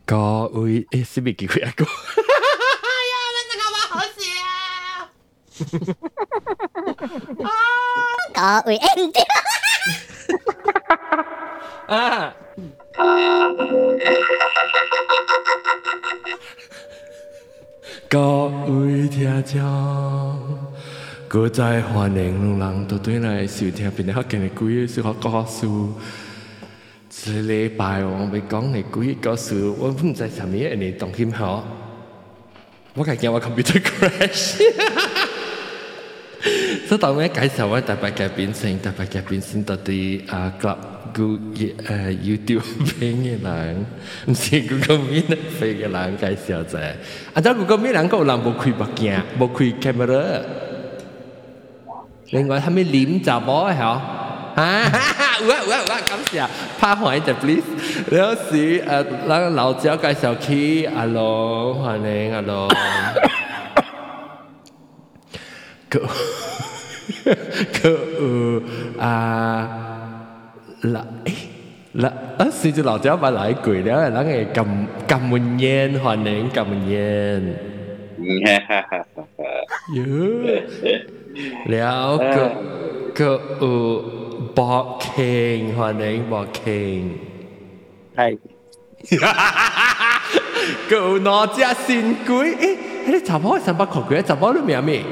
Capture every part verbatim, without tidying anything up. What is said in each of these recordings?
各位，誒，是咪幾句啊？個， 哎呀，我這個我好笑啊！各位， 啊，各位聽眾，各在歡迎人都對來收聽邊個福建的鬼小學故事。這禮拜我要講的鬼故事，我唔知啥物嘢你當心好。我係驚我 computer crash。所以當我介紹我特別嘉賓先，特別嘉賓先到底啊 club 個誒 YouTube 片嘅人，唔是 Google Meet 飛嘅人介紹者。啊，但 Google Meet 人個有人冇開目鏡，冇開 camera。另外，係咪臉就冇係？啊！有啊有啊有啊！感謝，拍歡迎就 please。有時誒，嗱老趙介紹起，阿龍歡迎阿龍。個個有啊嗱誒嗱啊！是就老趙把來過了，人誒咁咁文言歡迎咁文言。有了個個有。博傾歡迎博傾， 係， 舊哪隻新鬼？誒，你查某三百塊鬼，查某你名咩？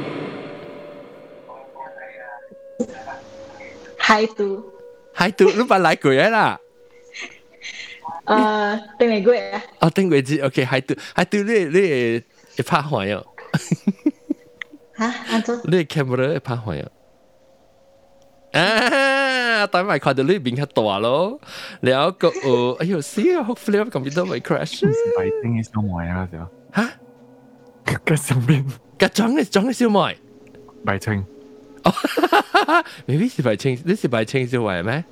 海都， 海都，你捌來過啦？ 誒，頂嚟過啊？ 哦，頂過至 ，OK， 海都，海都，你你會拍歡哟？ 嚇，安怎？ 你 camera 會拍歡哟？啊！等埋看到呢邊較大咯，แล้วก็เออ哎呦死啊 ！hopefully 我 computer 會 crash。 唔係白天嘅小妹啊，嗰時候嚇， 嘅上邊嘅裝嘅裝嘅小妹， 白青。 哦，maybe 是白青，你是白青小妹咩？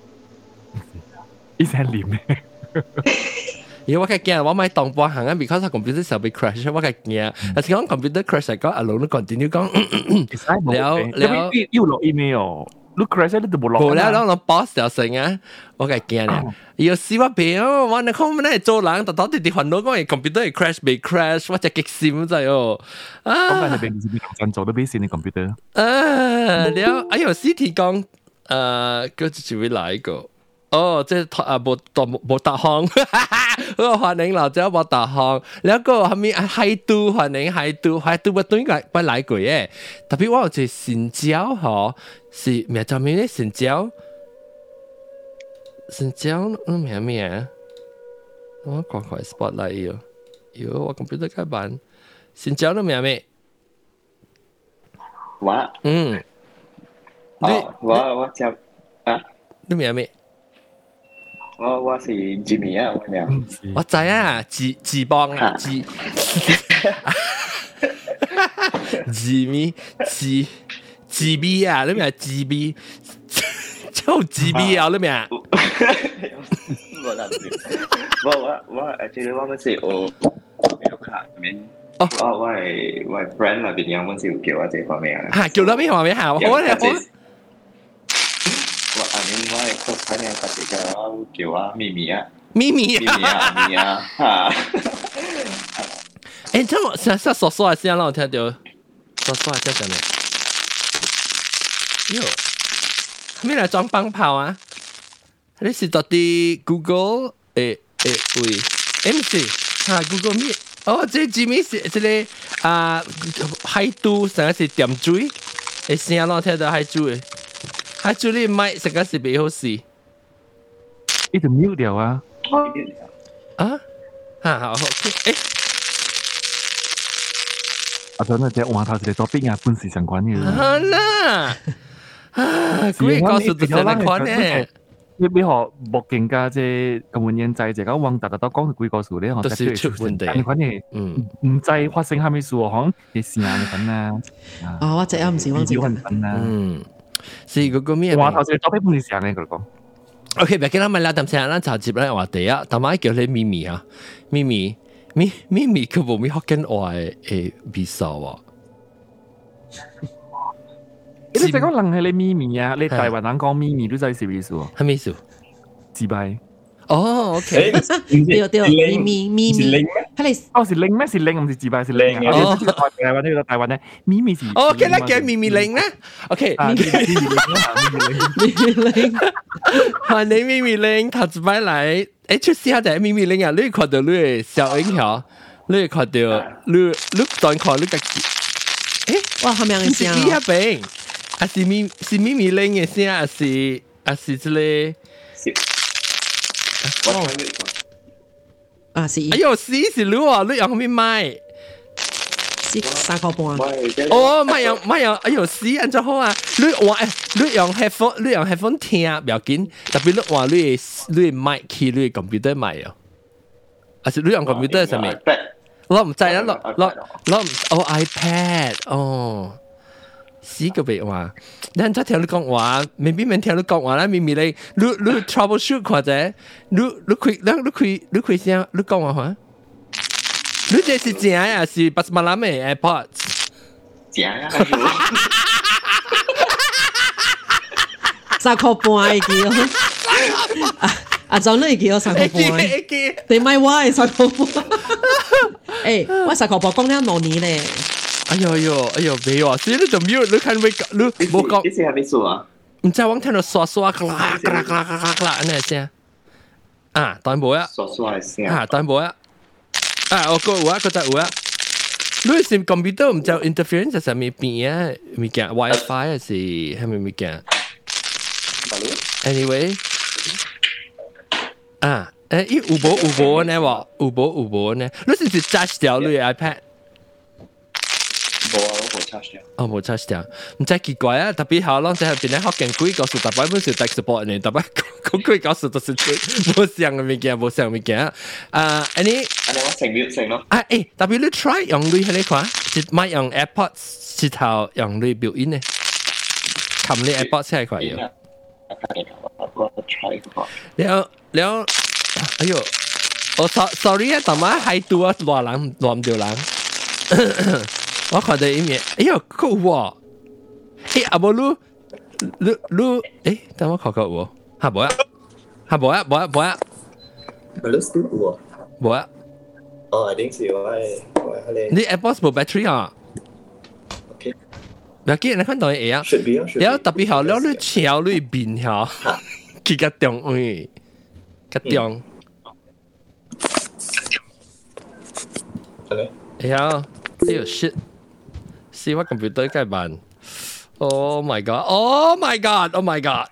一隻臉咩？ 因為我嘅驚，我買當半行啊 ，because 我 computer 時候被 crash， 我嘅驚。但是講 computer crash 嚟講，阿龍都 continue 講，了了， 要落 email。你 crash 你都冇落。 冇啦，我 boss 就成啊，我嘅驚咧。要試我病哦，我你講咩做人，特特地地煩惱講嘅 computer 係 crash 被 crash，我真激心真係哦。 啊！咁但係你邊真做都俾線你 computer。 啊，了，哎呦 ，C T 講，誒，佢就會來一個。哦，即係啊，冇冇冇搭項，我歡迎老趙冇搭項，แล้วก็係咪海都歡迎海都海都我對個不來過嘅，特別我有隻新椒嗬，是咩叫咩咧？新椒，新椒，嗯咩咩啊？我快快 spotlight 要，要我 computer 開版，新椒都咩咩？ 我， 嗯， 哦，我我就啊， 你咩咩？ 我我是 Jimmy 啊，我名。 我知啊，志志邦啊，志 Jimmy 志志 B 啊，你名志 B， 就志 B 啊，你名。 我諗住，我我我actually我嗰時我有卡入面，我我係我係 friend 入邊有嗰時叫我這方面啊。 嚇，叫到邊方面嚇？我我。 我阿明我係個 friend 有特別嘅，叫我咪咪啊， 咪咪咪咪啊，咪咪啊，嚇！ 誒，咁我成日說說下先，讓我聽到，說說下先咩？喲，咩嚟裝棒炮啊？你是到底 Google 誒誒喂 ，M C 嚇 Google Meet，哦，這係 Jimmy 是這個啊海都成日是點水，誒先讓我聽到海都誒。海珠你麥實在是幾好事， 呢條 mute 掉啊！ 啊，嚇好 OK， 誒， 阿俊啊，隻話頭是嚟做邊啊半時相關嘅。 啊啦，啊，鬼告訴就成日款咧。 你你學目鏡家即係咁換人制，就講往大家都講鬼故事咧， 都是出問題。 你款嘢，嗯，唔制發生蝦米事喎？可能你時間份啊。 哦，我隻有唔是我隻份啊。嗯。 是嗰個咩？ 話頭先多啲半時間咧，佢講。 OK，唔記得咪啦，等陣啦，就接咧話第一，頭晚叫你咪咪啊，咪咪咪咪咪佢冇咪學緊話誒比數喎。 你就講人係你咪咪啊，你台灣人講咪咪都真係是比數。 係咪數？ 自閉。 哦 ，OK， 對對，咪咪咪咪，佢哋哦是零咩？是零唔是字牌是零啊！哦，台灣呢個台灣咧，咪咪是。 OK 啦，叫咪咪零啦。OK，咪咪零啦，咪咪零，歡迎咪咪零，頭一擺來，誒，出試下就係咪咪零啊！你看到你嘅小影響，你看到你你當看你個，誒， 哇，係咪嘅聲啊？ 是一邊，啊是咪是咪咪零嘅聲，啊是啊是這裡。 哦， 啊是， 哎呦，是是你啊，你用咩買？ 是三個半。 哦，買用買用，哎呦，是安怎好啊？你話誒，你用 headphone， 你用 headphone 聽，唔要緊。特別你話你你麥去你 computer 買啊？還是你用 computer 上面？我唔知啦，我我我哦 iPad 哦。死個別話，你真聽你講話，未必明聽你講話啦。明明你你你 troubleshoot 或者你你開你你開你開聲，你講話話，你這是正啊，是八十萬攬嘅 AirPods？ 正啊！ 三塊半嘅叫，啊啊，就你叫三塊半，你買我係三塊半。誒，我三塊半講了兩年咧。 哎呦哎呦哎呦，沒有啊！所以你就沒有，你看沒你冇講。 你是還沒說啊？ 唔知我聽到刷刷咔啦咔啦咔啦咔啦咔啦咁嘅聲。啊，當然冇啊。 刷刷嘅聲。 啊，當然冇啊。啊，我個有啊，個就有啊。你係 computer 唔就 interference 上面變啊？物件 WiFi 還是係咪物件 ？Anyway， 啊，誒，依有冇有冇呢？喎，有冇有冇呢？你是唔是 charge 掉你 iPad？ 冇啊，我冇 charge 掉。 哦，冇 charge 掉，唔真奇怪啊！特別好，啷在邊咧學緊幾個數，特別本是 tech support 呢，特別講幾個數都是冇上嘅物件，冇上嘅物件。啊，安尼， 安尼我成秒成咯。 啊，誒，特別你 try 用你喺呢款，就買用 AirPods 直頭用你表演呢，冚你 AirPods 先係塊嘢。 我 try 個。 了了，哎呦，我 sorry 啊，但係喺度啊，亂人亂唔掉人。我看到一面，哎呀，夠喎！哎，阿伯魯，魯魯，哎，等我看看喎，嚇冇啊，嚇冇啊，冇啊，冇啊， 咪魯 still 喎， 冇啊。 哦，一定是我係我係你。 你 AirPods 冇 battery 啊 ？OK。 唔要緊，你看到嘢啊？ Should be 啊。 然後特別好，了你橋你邊條，佢個中位，個中。哎呀，哎呦 shit！See what computer 該辦 ？Oh my god! Oh my god! Oh my god!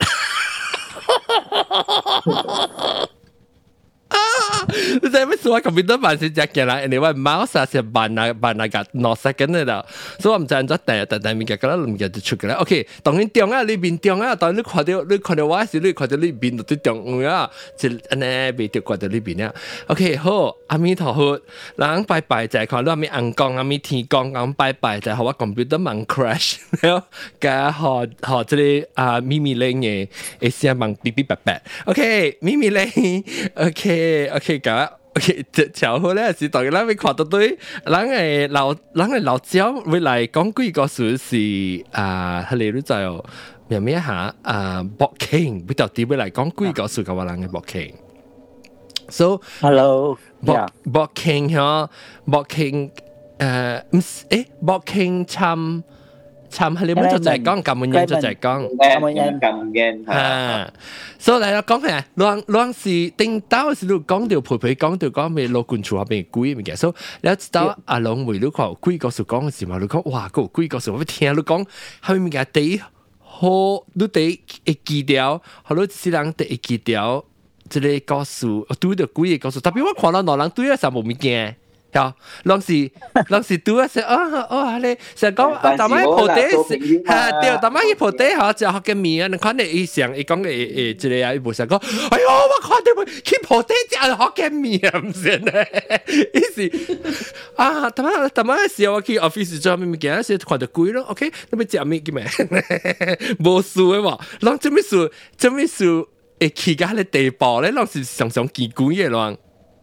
你知咩？我 computer 辦是只嘅啦，人哋話 mouse 啊是辦啊辦啊個 no second 嘅啦，所以我唔知安怎第第第物件，嗰啲物件就出嘅啦。OK， 當然中啊，裏邊中啊，當然你看到你看到我時，你看到裏邊就中啊，就安尼未掉過到裏邊啊。OK， 好，阿彌陀佛，人拜拜就係看到阿彌紅光、阿彌天光咁拜拜，就係我 computer 慢 crash， 然後加學學即係啊咪咪零嘅，一聲慢嗶嗶白白。OK， 咪咪零 ，OK，OK 咁。OK， 就好咧，是當然啦，會看到對，人誒老人誒老鳥會來講幾個數是啊，佢哋都就咩咩下啊 blocking， 比較啲會來講幾個數嘅話人嘅 blocking。So hello， blocking 嗬 blocking 誒唔誒 blocking 參。參係你乜就係講咁樣就係講咁樣咁樣嚇，所以嚟講係兩兩時定到時都講到陪陪講到講咩老官處下邊鬼物件，所以你知道阿龍梅你講鬼個數講嘅時候，你講哇個鬼個數我聽你講後面嘅第好你第會記掉，好多時人第會記掉，即係個數對到鬼嘅個數，特別我看到兩人對嘅時候冇物件。呀，當時當時讀啊，成哦哦，你成講啊，大媽鋪底嚇，對，大媽去鋪底嚇，就學嘅面啊，你看你以上伊講嘅誒，即係啊，伊無成講，哎呦，我看到佢去鋪底就學嘅面唔算咧，於是啊，大媽大媽嘅時候我去 office 做咩物件，時看到鬼咯 ，OK， 你咪食咩嘅咩，無事嘅喎，啷做咩事，做咩事會去到迄個地步咧，啷是常常見鬼嘅啷。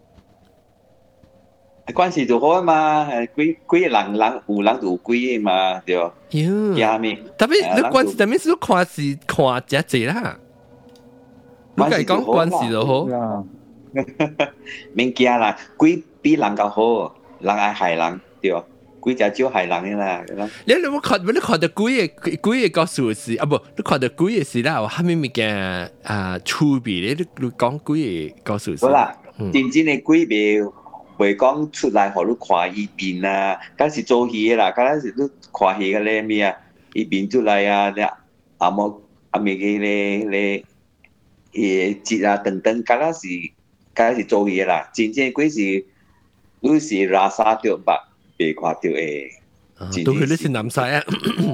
關係就好啊嘛，鬼鬼人人有人就有鬼嘛，對吧？ 呀，特別你關係特別是看是看只只啦，你講關係就好。 免驚啦，鬼比人較好，人愛害人對。鬼只少害人嘅啦。 你你冇看，你看到鬼嘅鬼嘅個數字啊？不，你看到鬼嘅事啦，有蝦米物件啊？趣味咧，你你講鬼嘅個數字。 好啦，真正嘅鬼袂袂講出來，互你看伊面啊，敢是做戲嘅啦，敢是你看戲嘅咧咩啊？伊面出來啊，你阿冇阿咪嘅咧咧誒節啊等等，敢是敢是做戲嘅啦。真正鬼是你是拉沙掉白。被看到誒， 都佢你是南西啊！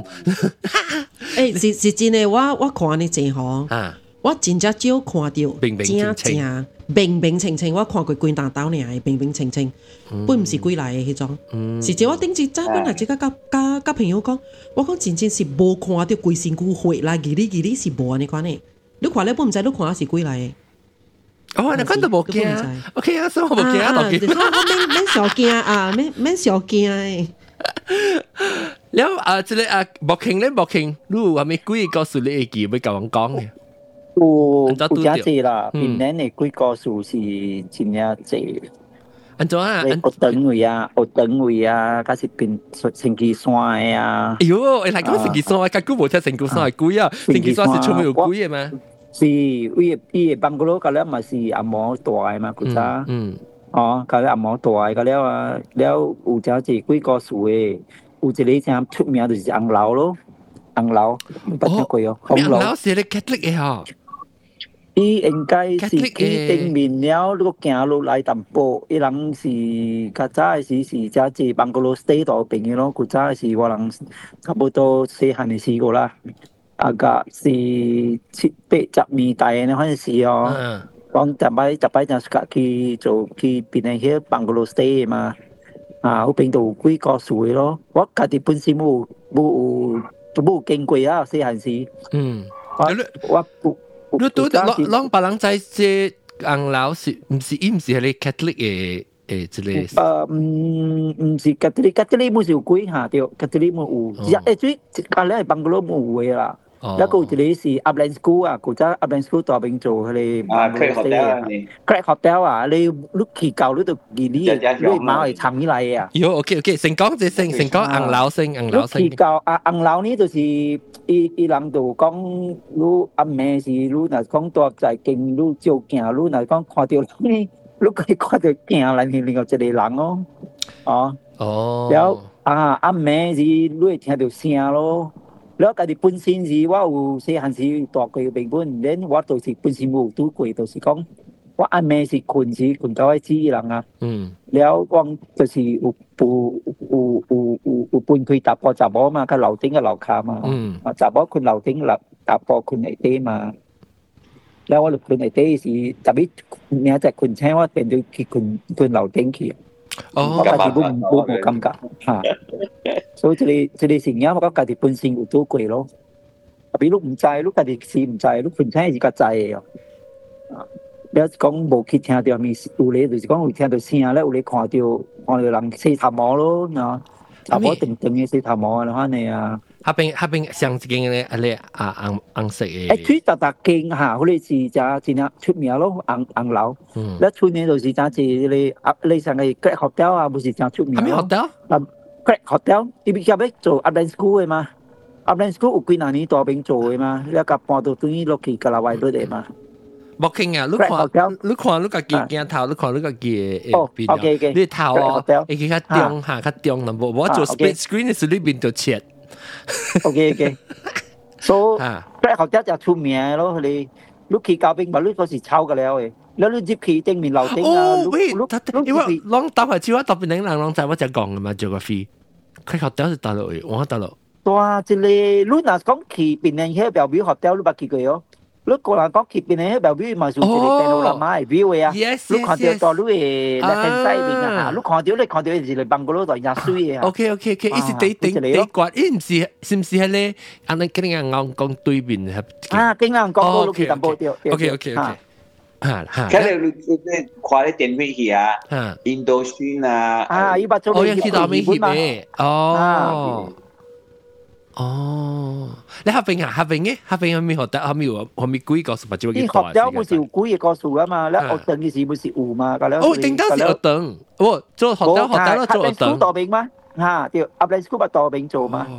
誒，是是真誒，我我看你真好，我真正少看到， 平平清清， 平平清清，我看過鬼打刀爾，平平清清，本唔是鬼來誒迄種，是只我頂次早本來即個甲甲甲朋友講，我講真正是無看到鬼身軀血來，佢你佢你是無安尼款誒，你看咧本唔知你看是鬼來誒。 哦，你看都冇驚 ，OK 啊，所以我冇驚啊，我免免小驚啊，免免小驚誒。 แล้วอ่า即係啊บอกเข่ง咧บอกเข่งรู้ว่ามี鬼故事你會記要甲我講嘅。 有有真濟啦，邊年嘅鬼故事是真正濟。 安怎啊？ 學長位啊，學長位啊，假是邊成吉山嘅啊。 哎呦，誒嚟講成吉山，我較久冇聽成吉山係鬼啊，成吉山是出面有鬼嘅嘛？ 是，伊伊邦哥羅，嗰了嘛是阿毛大嘅嘛，嗰陣。嗯。哦，嗰了阿毛大嘅，嗰了啊，了有真濟鬼故事嘅，有一個真出名就是紅樓咯，紅樓，捌聽過哦。 紅樓是咧 Catholic 嘅嗬。 伊應該是去頂面了，你個行路來淡薄，伊人是較早嘅時是真濟邦哥羅 stay 到邊嘅咯，嗰陣是我人差不多細漢嘅時個啦。啊個是七八十年代嘅嗰陣時哦，講十擺十擺就係去做去邊個去邦哥羅 stay 嘛，啊嗰邊度鬼故事咯，我家己本身冇冇冇經過啊細漢時，嗯，我我你都啷啷別人在這紅樓是唔是伊唔是係你 Catholic 嘅誒之類？ 誒唔唔是 Catholic，Catholic 冇有鬼嚇對 ，Catholic 冇有，誒最隔離係邦哥羅冇有嘅啦。แล้วก็จะได้สิอัพแลนด์สกูลอ่ะกูจะอัพแลนด์สกูลต่อเป็นโจเลยอ่าเครกฮอตเทลเครกฮอตเทลอ่ะเลยลูกขี่เก่าลูกตัวกี่นี่ด้วยมาไอ้ทำนี่ไรอ่ะโยโอเคโอเค成講就成成講硬樓性硬樓性ลูกขี่เก่าอ่ะ硬樓นี่就是อีอีหลังตัว講ลูก阿妹是ลูกน่ะ講ตัวใจเก่งลูกเจ้าแก่ลูกน่ะ講看到นี่ลูกก็看到แก่แล้วนี่另外一個人哦อ๋ออ๋อแล้วอ่า阿妹是ลูก聽到聲咯แล้วก็ที่ปุ่นซินสิว่าอยู่เสียหันสิตัวก็อยู่เป็นปุ่นเล่นว่าตัวสิปุ่นซินมูตัวก็ตัวสิ講ว่าอันเมสิคุณสิคุณก็ไอ้ที่หลังอ่ะแล้วว่าตัวสิอุปูอุอุอุอุปุ่นคุยตับพอจับบ่มาก็เหล่าติ้งก็เหล่าคามาจับบ่คุณเหล่าติ้งหลับตับพอคุณไอเต้มาแล้วว่าคุณไอเต้สิจับบิเนี่ยจากคุณใช่ว่าเป็นด้วยที่คุณคุณเหล่าติ้งขี้哦，家己本冇冇感覺嚇，所以即個即個成日我覺家己本身有做過咯。特別你唔知，你家己是唔知，你本身係個知嘅哦。啊，你講無去聽到咪有咧，就是講有聽到聲咧，有咧看到看到人洗頭毛咯，喏，頭毛長長嘅洗頭毛啊，反正啊。 下邊下邊上一間咧，咧啊紅紅色嘅。 誒，最大大間嚇，嗰啲是真真係出名咯，紅紅樓。嗯。咧出名就是真係你啊，你上個 Great Hotel 啊，不是真出名咯。咩 hotel？ 啊 ，Great Hotel，伊邊入去做 Upland School 嘅嘛 ，Upland School 有幾廿年大邊做嘅嘛，你甲搬到對落去格拉威嗰啲嘛。 冇傾啊！你看，你看，你個鏡鏡頭，你看你個嘅誒邊，你頭哦，會去較中下較中，嗱無無做 split screen 是裏邊就切。 OK OK，所以Great Hotel就出名咯，你你去交兵嘛，你嗰時抄嘅了嘅，แล้ว你入去正面樓頂啊， 哦，喂，因為啷搭係只話特別靚人啷在我只講嘅嘛 ，geography，Great Hotel 是大陸嘅，我大陸。 哇！即個你若講去邊個迄表表 hotel 你捌去過哦？你個人講去邊個迄表表嘛，就一個panorama嘅 view 嘅啊，你看到到你嘅 left hand side 邊啊，你看到你看到係一個邦哥羅在廿水嘅啊。 OK OK OK，伊是第第第關，伊唔是是唔是係咧？安尼跟人講講對面係。 啊，跟人講過路去淡薄掉。 OK OK OK。嚇嚇。 咁你你你看啲電影戲啊，印度宣啊。 啊，伊捌做哦，有去到美翕嘅。哦。 哦，你下邊啊，下邊嘅，下邊有咩學得？後面有後面幾個數，或者幾啲學咗冇時幾個數啊嘛，你學等嘅時冇時有嘛，咁樣。 哦，頂到時學等，哦，做學得學得咯，做學等。 school 多邊嘛，嚇，條 upline school 咪多邊做嘛。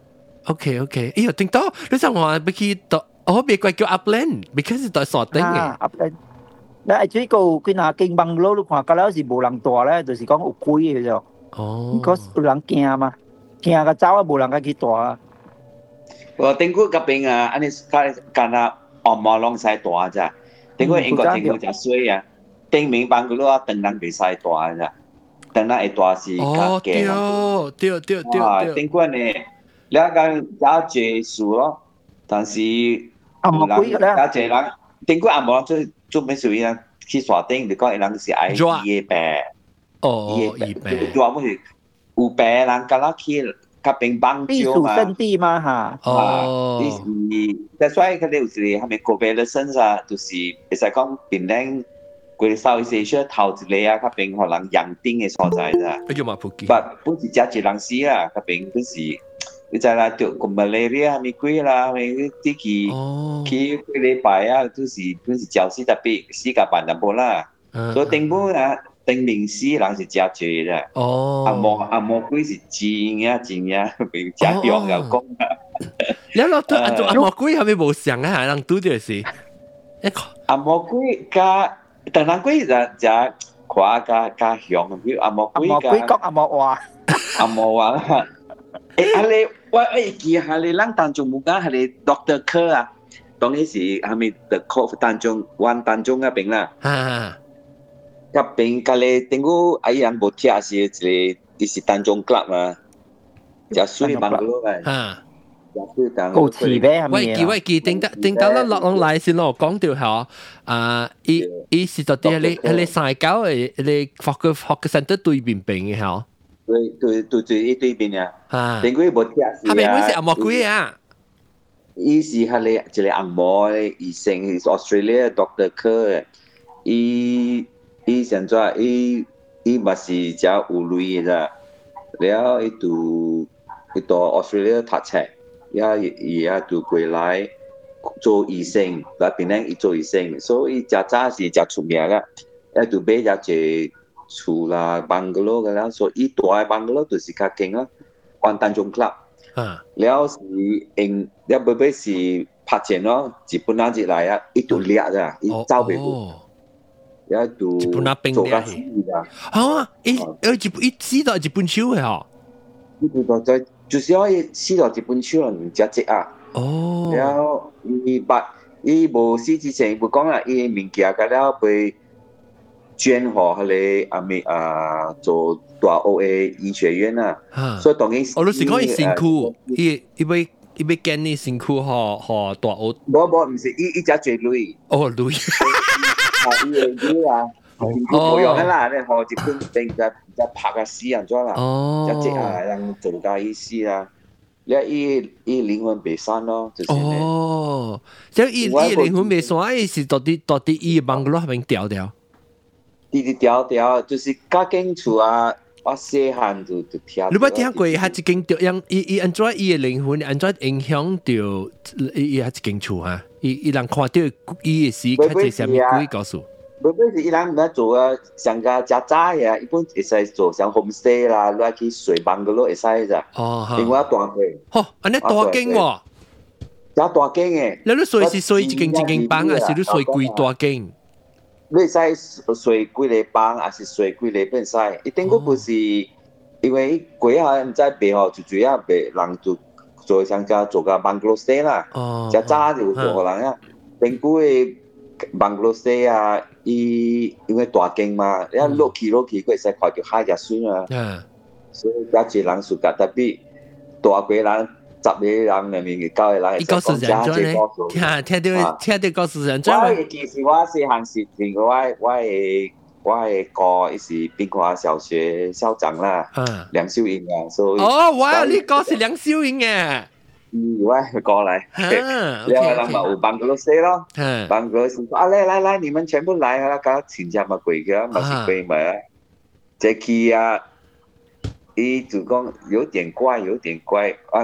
OK OK，哎呀，頂到你想話要去到，我別怪叫 upline，because 係傻頂嘅。 upline，你係最高佢嗱經幫佬，你看嗰陣時冇人大咧，就是講有貴嘅啫。哦，嗰有人驚嘛，驚個走啊，冇人家去大啊。 我頂過嗰邊啊，安尼間間啊，按摩攏使大咋？頂過英國政府就衰啊，頂明辦嗰個等人袂使大咋，等人會大是較驚。 哦，對對對對。 頂過呢，你講有借數咯，但是按摩貴咧， 有借人頂過按摩做做咩事啊？去刷頂，你講人是愛醫病， 哦，醫病， 做乜事？有病人㗎啦去。嗰邊幫助嘛， 避暑勝地嘛嚇。 哦，你是，但所以佢哋有時係咪個別嘅身上，就是其實講邊靚，佢哋稍微少少投資嚟啊，嗰邊可能人丁嘅所在咋。 哎呀媽仆街！ 不，本是只一人死啦，嗰邊本是，你知啦，就個 malaria 咪貴啦，咪啲期期幾禮拜啊，都是本是教師特別時間辦得冇啦，所以政府啊。定名師人是真濟啦， 哦， 阿摩阿摩鬼是真呀真呀，被真用又講啊。 你攞對阿阿摩鬼係咪冇上啊？係人拄着是。 阿摩鬼加，但人鬼就就誇加加響，比如阿摩鬼加。阿摩鬼講阿摩話， 阿摩話啦。誒，係你我誒記係你人當中冇講係你 Doctor Kerr 啊，當年是係咪 The Cove 當中灣當中嗰邊啦？啊。嗰邊隔離頂個阿人冇聽是一個，伊是單中 club 嘛，就水芒嗰個嘅，就水當。 好似咩？ 喂記喂記，頂得頂到啦落落來先咯，講到係啊，伊伊是到底係你係你曬狗誒，你學個學個身體對邊邊嘅係？ 對對對對，伊對邊啊？啊，頂個冇聽是啊。係咪嗰時阿莫鬼啊？伊是係你一個阿摩嘅醫生，係 Australia Doctor Kerr 伊。伊現在伊伊嘛是只有鐳嘅，然後伊讀伊讀 Australia 讀冊，然後伊也讀歸來做醫生，來邊咧伊做醫生，所以伊只早是只出名嘅，一讀買只隻厝啦、bungalow 嘅啦，所以伊大嘅 bungalow 就是較勁啦，灣單中 club，然後是因，然後尾尾是拍錢咯，日本人入來啊，伊讀掠咋，伊走袂過。一度做家私㗎， 嚇！誒誒，日本一撕到日本手嘅嗬， 呢度就就就是可以撕到日本手啦，唔只隻啊。哦。然後伊把伊無撕之前，無講啦，伊物件㗎了被捐予迄個阿咪啊做大學嘅醫學院啊。嚇。所以當然， 哦，你是講伊辛苦，伊伊要伊要建你辛苦，嗬嗬大學。 無無，唔是，伊伊只最累。 哦，累。 啊，伊個啊，冇用嘅啦，你學日本定就就拍個死人咗啦，就即係人做家醫師啦，你伊伊靈魂未散咯，就是咧。 哦，即係伊伊靈魂未散，伊是到底到底伊幫個落邊掉掉？ 啲啲掉掉，就是家境厝啊，我細漢就就聽。 你捌聽過伊係一間掉，樣伊伊安怎伊嘅靈魂安怎影響到伊伊係一間厝啊？伊伊人看到伊嘅時，佢係啥物鬼告訴？ 唔係，伊人唔係做啊，上家家渣嘅，一般會使做像 homestay 啦，攞去睡房嗰度會使咋。哦，另外大間。 吼，安尼大間喎。 有大間嘅。 你你睡是睡一間一間房，還是你睡幾大間？ 你會使睡幾個房，還是睡幾個變使？一定個不是，因為鬼下唔知背後就主要被人做。做上家做個 bungalow stay 啦，就早就做可能啊。定古嘅 bungalow stay 啊，伊因為大間嘛，一落去落去，佢會使看到海隻水啊。所以加濟人暑假特別大個人、十個人裡面嘅九個人， 伊告訴人咗咧，聽聽到聽到告訴人咗。 我嘅其實我細漢時聽我我嘅。我係個伊是邊華小學校長啦，梁秀英啊，所以哦，哇，你個是梁秀英嘅， 嗯，我係過嚟，然後人咪有辦個老師咯，辦個老師，啊來來來，你們全部來啊，搞請假咪貴嘅，咪是貴咪，這期啊，伊就講有點怪，有點怪，嗰陣時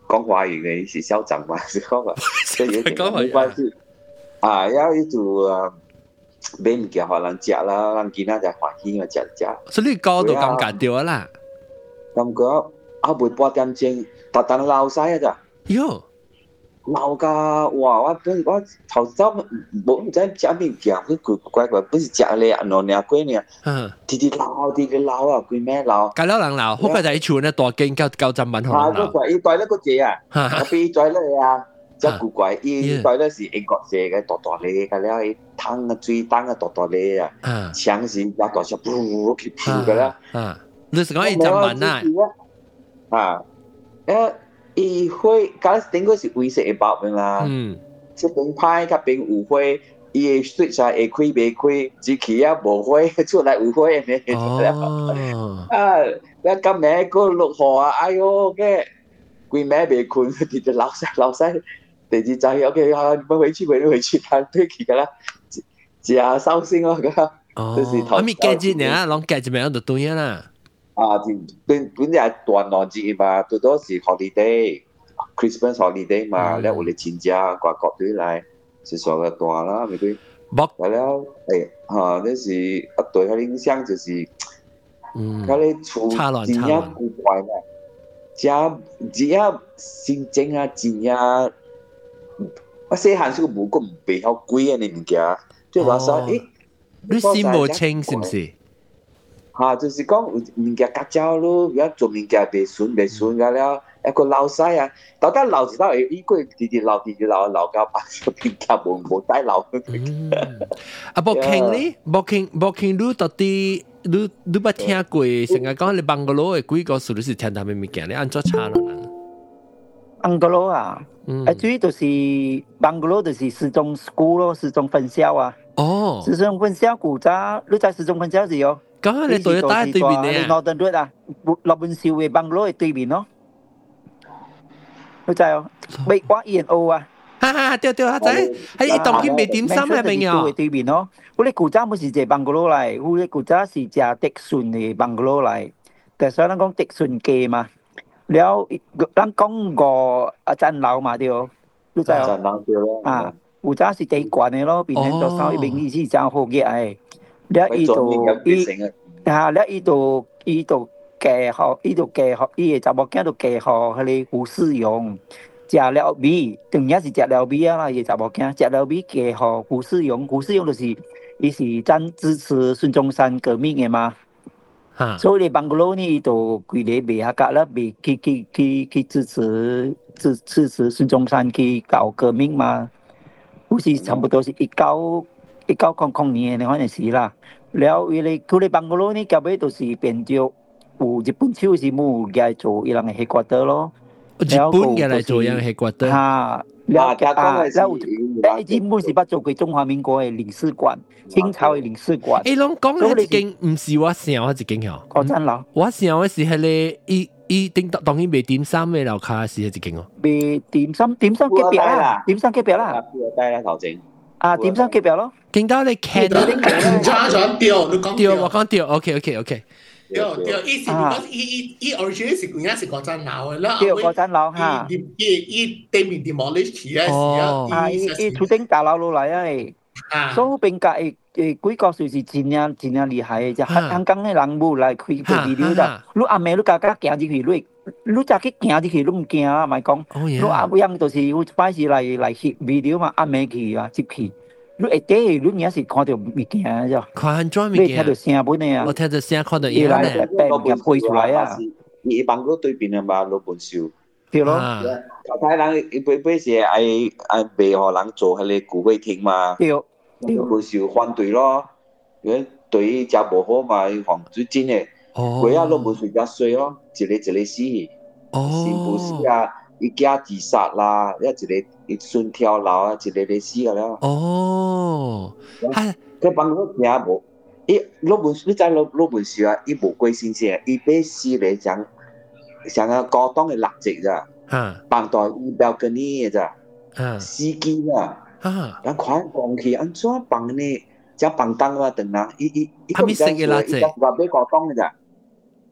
講華語嘅是校長嘛，是講嘛，所以有點冇關係。啊，要一組啊，買物件互人食啦，人囡仔就歡喜嘛，食食。 所以你高都感覺到啦。 感覺啊，每八點鐘，特登鬧曬啊咋？ 喲， 鬧㗎！哇！我本我頭先冇唔知食咩物件，佢怪怪怪，不是食咧啊，兩兩鬼呢？嗯，直直鬧，直直鬧啊！佢咩鬧？隔離人鬧，好快就喺厝咧大驚交交陣文可能鬧。 啊，個伊袋咧個字啊，我俾袋咧啊，即係古怪，伊袋咧是英國製嘅，大大粒嘅了，伊湯啊水湯啊大大粒啊，槍是一大小噗去噗嘅啦。 啊，你是講伊陣文啊？ 啊，誒。伊會，假頂個是灰色嘅包面啦。嗯。即邊派甲邊有花，伊嘅水才會開袂開，只起啊無花，出來有花嘅。哦。啊，我今暝個落雨啊，哎喲嘅，規暝袂困，直直流曬流曬。第二就係 OK 啊，唔回去回回去，但對起個啦，只啊傷心哦個。 哦。啊咪假日呢，攏假日咪就對啦。 啊，本本嚟斷浪節嘛，最多是 holiday，Christmas holiday 嘛，แล้ว有嚟親家掛國隊來，是上個斷啦，咪佢，係了，誒，嚇，那是一對佢影響就是，嗯，佢哋厝真正古怪啦，真真正心情啊，真正，我細漢時候冇咁唔備好貴啊，你物件，即係話說，誒， 你心冇清是唔是？ 嚇，就是講物件夾膠咯，而家做物件袂順袂順㗎了，一個流曬啊！到底流是流會依個直直流直直流流到把個物件無無帶流。 啊，無傾呢？無傾無傾，你到底你你捌聽過？成日講你邦哥羅嘅幾個數，你是聽他們物件，你按怎查咯？ 邦哥羅啊，啊，主要就是邦哥羅就是時鐘 school 咯，時鐘分校啊。哦，時鐘分校古早，你在時鐘分校是哦。 咁啊，你對打對面嘅啊 ？Northern Road啊，落本少嘅邦羅嘅對面咯。你知哦？美國 E and O 啊。 哈哈，對對，我知。喺一檔去賣點心係咪啊？ 對面咯，我哋古早冇是隻邦羅嚟，我哋古早是隻迪順嘅邦羅嚟。但係所以咱講迪順記嘛，了咱講過啊陳樓嘛對哦。你知哦？啊，古早是地關嘅咯，變成咗稍一邊意思真好嘅誒。了伊度伊嚇，了伊度伊度嫁互伊度嫁互伊個查某囝度嫁互迄個胡世榮，食了米，當然是食了米啊啦，伊個查某囝食了米嫁互胡世榮，胡世榮就是伊是贊支持孫中山革命個嘛，所以你邦哥羅呢伊度規個賣下價啦，賣去去去去支持支支持孫中山去搞革命嘛，好似差不多是一九。一九空空年嘅嗰陣時啦，了伊哋佢哋邦哥羅呢，後尾就是變咗有日本超市冇嘅做伊人嘅 headquarter 咯。 日本嘅嚟做樣 headquarter。 嚇，了啊，了誒，日本是捌做過中華民國嘅領事館，清朝嘅領事館。 誒，攏講嘅一間唔是我想嘅一間嗬。 國珍樓。 我想嘅是係咧，伊伊頂當然賣點心嘅樓下是一間哦。 賣點心，點心隔壁啦，點心隔壁啦。 富二代啦，頭前。 啊，點心隔壁咯。 見到你看到唔差咗掉，你講掉，我講掉 ，OK OK OK。 掉掉，意思講伊伊伊 original 是講係國珍樓嘅啦， 掉國珍樓嚇。 伊伊對面 demolish 嘅時候，啊，伊伊厝頂大樓落嚟啊，所以邊個誒誒幾個算是真正真正厲害嘅，就香港嘅人冇來開個 video 啦。你阿妹你家家行入去，你你再去行入去，你唔驚啊？咪講，你阿妹樣就是有擺是來來翕 video 嘛，阿妹去啊接去。你一啲你硬是看到物件啫， 看咗物件， 你聽到聲本嚟啊， 我聽到聲看到嘢咧，物件配出來啊。 伊邦哥對邊啊嘛，老本少， 對咯。 頭睇人伊本本是愛愛賣互人做迄個古威亭嘛， 對， 老本少反對咯，因為對伊食無好嘛，伊防最真誒，佢啊老本少較衰咯，一個一個死，是不是啊？伊家自殺啦，一一個一順跳樓啊，一個嚟死個了。 哦， 係佢幫佢聽無，伊老本你知老老本事啊，伊無貴先生，伊俾死嚟講，像個高檔嘅垃圾咋，放到伊標跟你嘅咋，司機啊，人看講起安怎放呢？只放當啊，等人，伊伊伊佢唔食嘅垃圾， 話俾高檔嘅咋。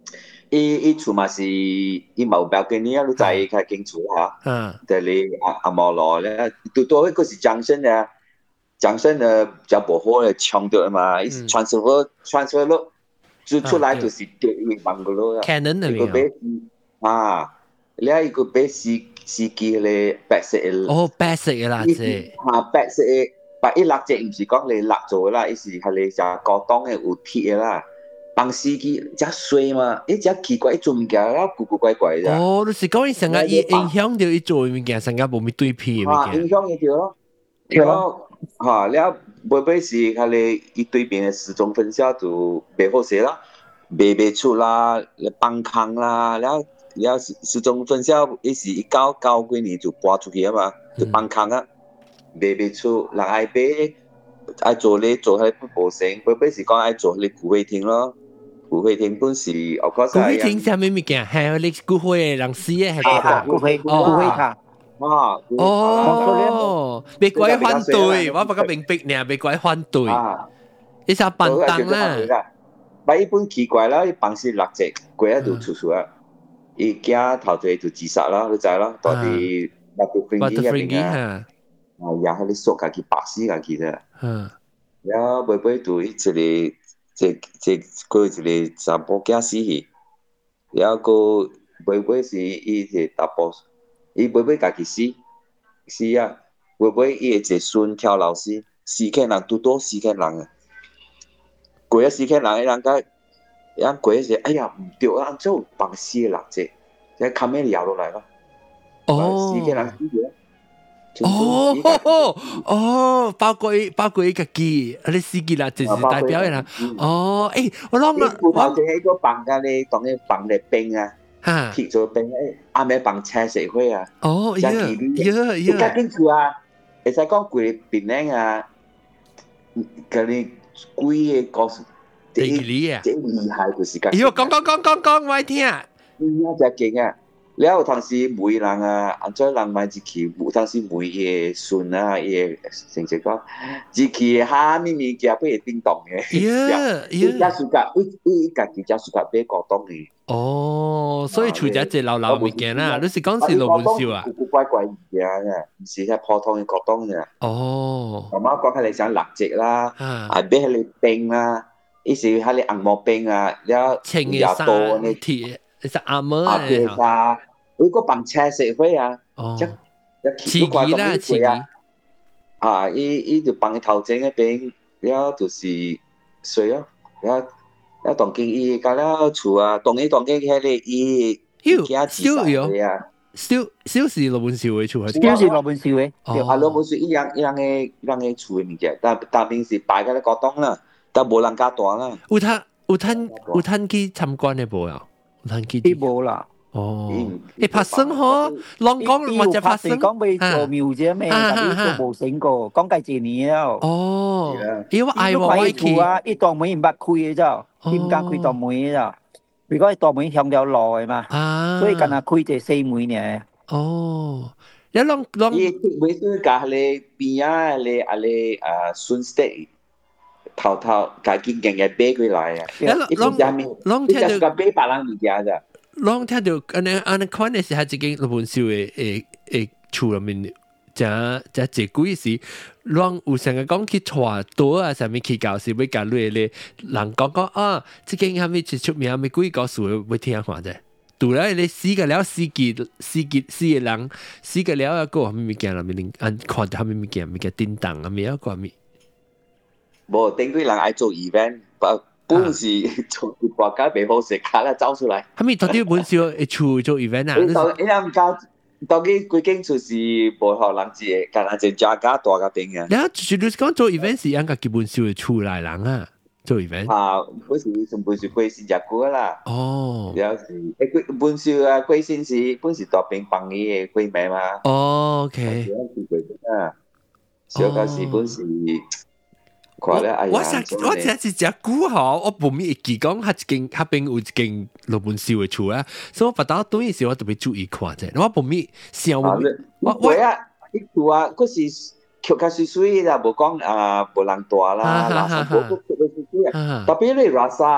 伊伊厝嘛是伊冇標給你啊，你在開間厝哈，嗯，但係阿阿毛羅咧，都多嗰是張生啊，張生啊就無好咧，搶到嘛，伊是 transfer transfer 咯，就出來就是掉一萬個咯。 Canon 那邊啊，你一個俾司司機咧白色嘅， 哦白色嘅垃圾， 嚇白色嘅，白一垃圾唔是講你垃咗啦，伊是係你就高檔嘅有鐵嘅啦。幫司機只衰嘛，伊只奇怪做物件啦，古古怪怪啫。 哦，就是講伊成日伊影響到伊做物件，成日無咪對皮嘅物件。 影響伊條咯，然後嚇，然後會唔會是佢哋伊對邊嘅時鐘分銷就袂好勢啦，賣袂出啦，放空啦，然後然後時時鐘分銷伊是一九九幾年就搬出去啊嘛，就放空啊，賣袂出，人愛買愛做咧做係不保成，會唔會是講愛做咧古會廳咯？古會廳本是，我覺得古會廳係咩物件？係你古會人死嘅係個古會古會卡。 啊！ 哦，別鬼反對，我不過明白呢，別鬼反對。你實笨蛋啦！ 但一般奇怪啦，伊辦事垃圾，鬼啊就出出啊！伊驚頭條就自殺啦，你知啦？到底馬杜芬基入邊啊，啊，也係你索家己白死家己啫。嗯。然後會唔會對一個？即即佢一個查甫囝死去，然後個妹妹是伊個大波，伊妹妹家己死死啊，妹妹伊個一個孫跳樓死，四個人拄多四個人啊，過啊四個人，伊人家，人過時，哎呀唔對啊，做放死個垃圾，即卡咩搖落來咯，哦，四個人死咗。 哦哦哦，包括包括一個機，你司機啦，就是代表嘅啦。哦，誒，我諗啦， 我頭先喺個房間咧，當你放啲冰啊，貼咗冰誒，啱啱放車社會啊。 哦，呀呀呀！ 家邊處啊，其實講貴邊靚啊，嗰啲貴嘅個， 地理啊， 最厲害就是咁。 喲，講講講講講，我聽啊。 嗯，真勁啊！你有當時每人啊，按照人買一期，有當時每個孫啊，伊個成績講，一期哈咪咪件不會叮當嘅， 呀呀， 家屬家，伊伊家己家屬家買高檔嘅。 哦，所以除咗隻老老物件啦，你是講是老本少啊？ 古古怪怪物件嘅，唔是係普通嘅高檔嘅。哦，媽媽講係你想垃圾啦，啊買係你冰啦，伊是係你紅毛冰啊，แล้วยาโตนี่鐵。其實阿妹啊，其實如果bằng車社會啊， 一一刺激啦，刺激啊！伊伊就bằng頭前嗰邊，了就是水咯，了了當經伊搞了厝啊，當伊當經迄個伊驚自殺嘅啊，少少是羅本少嘅厝， 少是羅本少嘅， 啊羅本少伊樣伊樣嘅伊樣嘅厝嘅物件，但但平時擺喺個檔啦，但無人家大啦。 有攤有攤有攤去參觀嘅無啊？ 啲冇啦， 哦，你拍生嗬，啷講或者拍生， 講俾做廟啫咩？但係都冇醒過，講計幾年咯。 哦，因為愛我愛佢啊，一檔門唔捌開嘅咋，點解開檔門嘅咋？如果係檔門向咗路嘅嘛，所以近下開就四門呢。 哦，你啷啷？ 伊每次隔你邊啊，你啊你啊順勢。頭頭家己經嘅買過來啊！ 啷啷聽到個買別人物件咋？ 啷聽到安尼安尼看嘅是係一間日本燒嘅誒誒厝入面，真真濟貴時，啷有成日講去傳道啊，上面去教是要教你咧，人講講啊，即間係咪最出名？咪貴告訴要聽下啫。除了你死個了死結死結死嘅人，死個了一個係咪物件入面？按看到係咪物件？物件叮當啊，咪一個咪。 無，頂幾人愛做 event，本是從國家未好食卡啦走出來。 係咪到底本少會出做 event 啊？ 你到你諗教，到幾幾間厝是無學人知嘅，但係就家家大家邊嘅。 你啊，就是你講做 event 是應該基本少會出來人啊，做 event。 啊，本是從本是貴先食過啦。 哦。 有時誒本少啊，貴先是本是大邊幫伊嘅貴名嘛。 哦 ，OK。 啊，小個是本是。我我實我真係只估下，我冇咩記講，佢一間嗰邊有一間日本燒嘅厝啊，所以我不打對時我特別注意看啫。我冇咩想我我我啊，呢厝啊，嗰時橋較水水啦，無講啊，無人大啦，垃圾冇都出到水水啊。特別你拉薩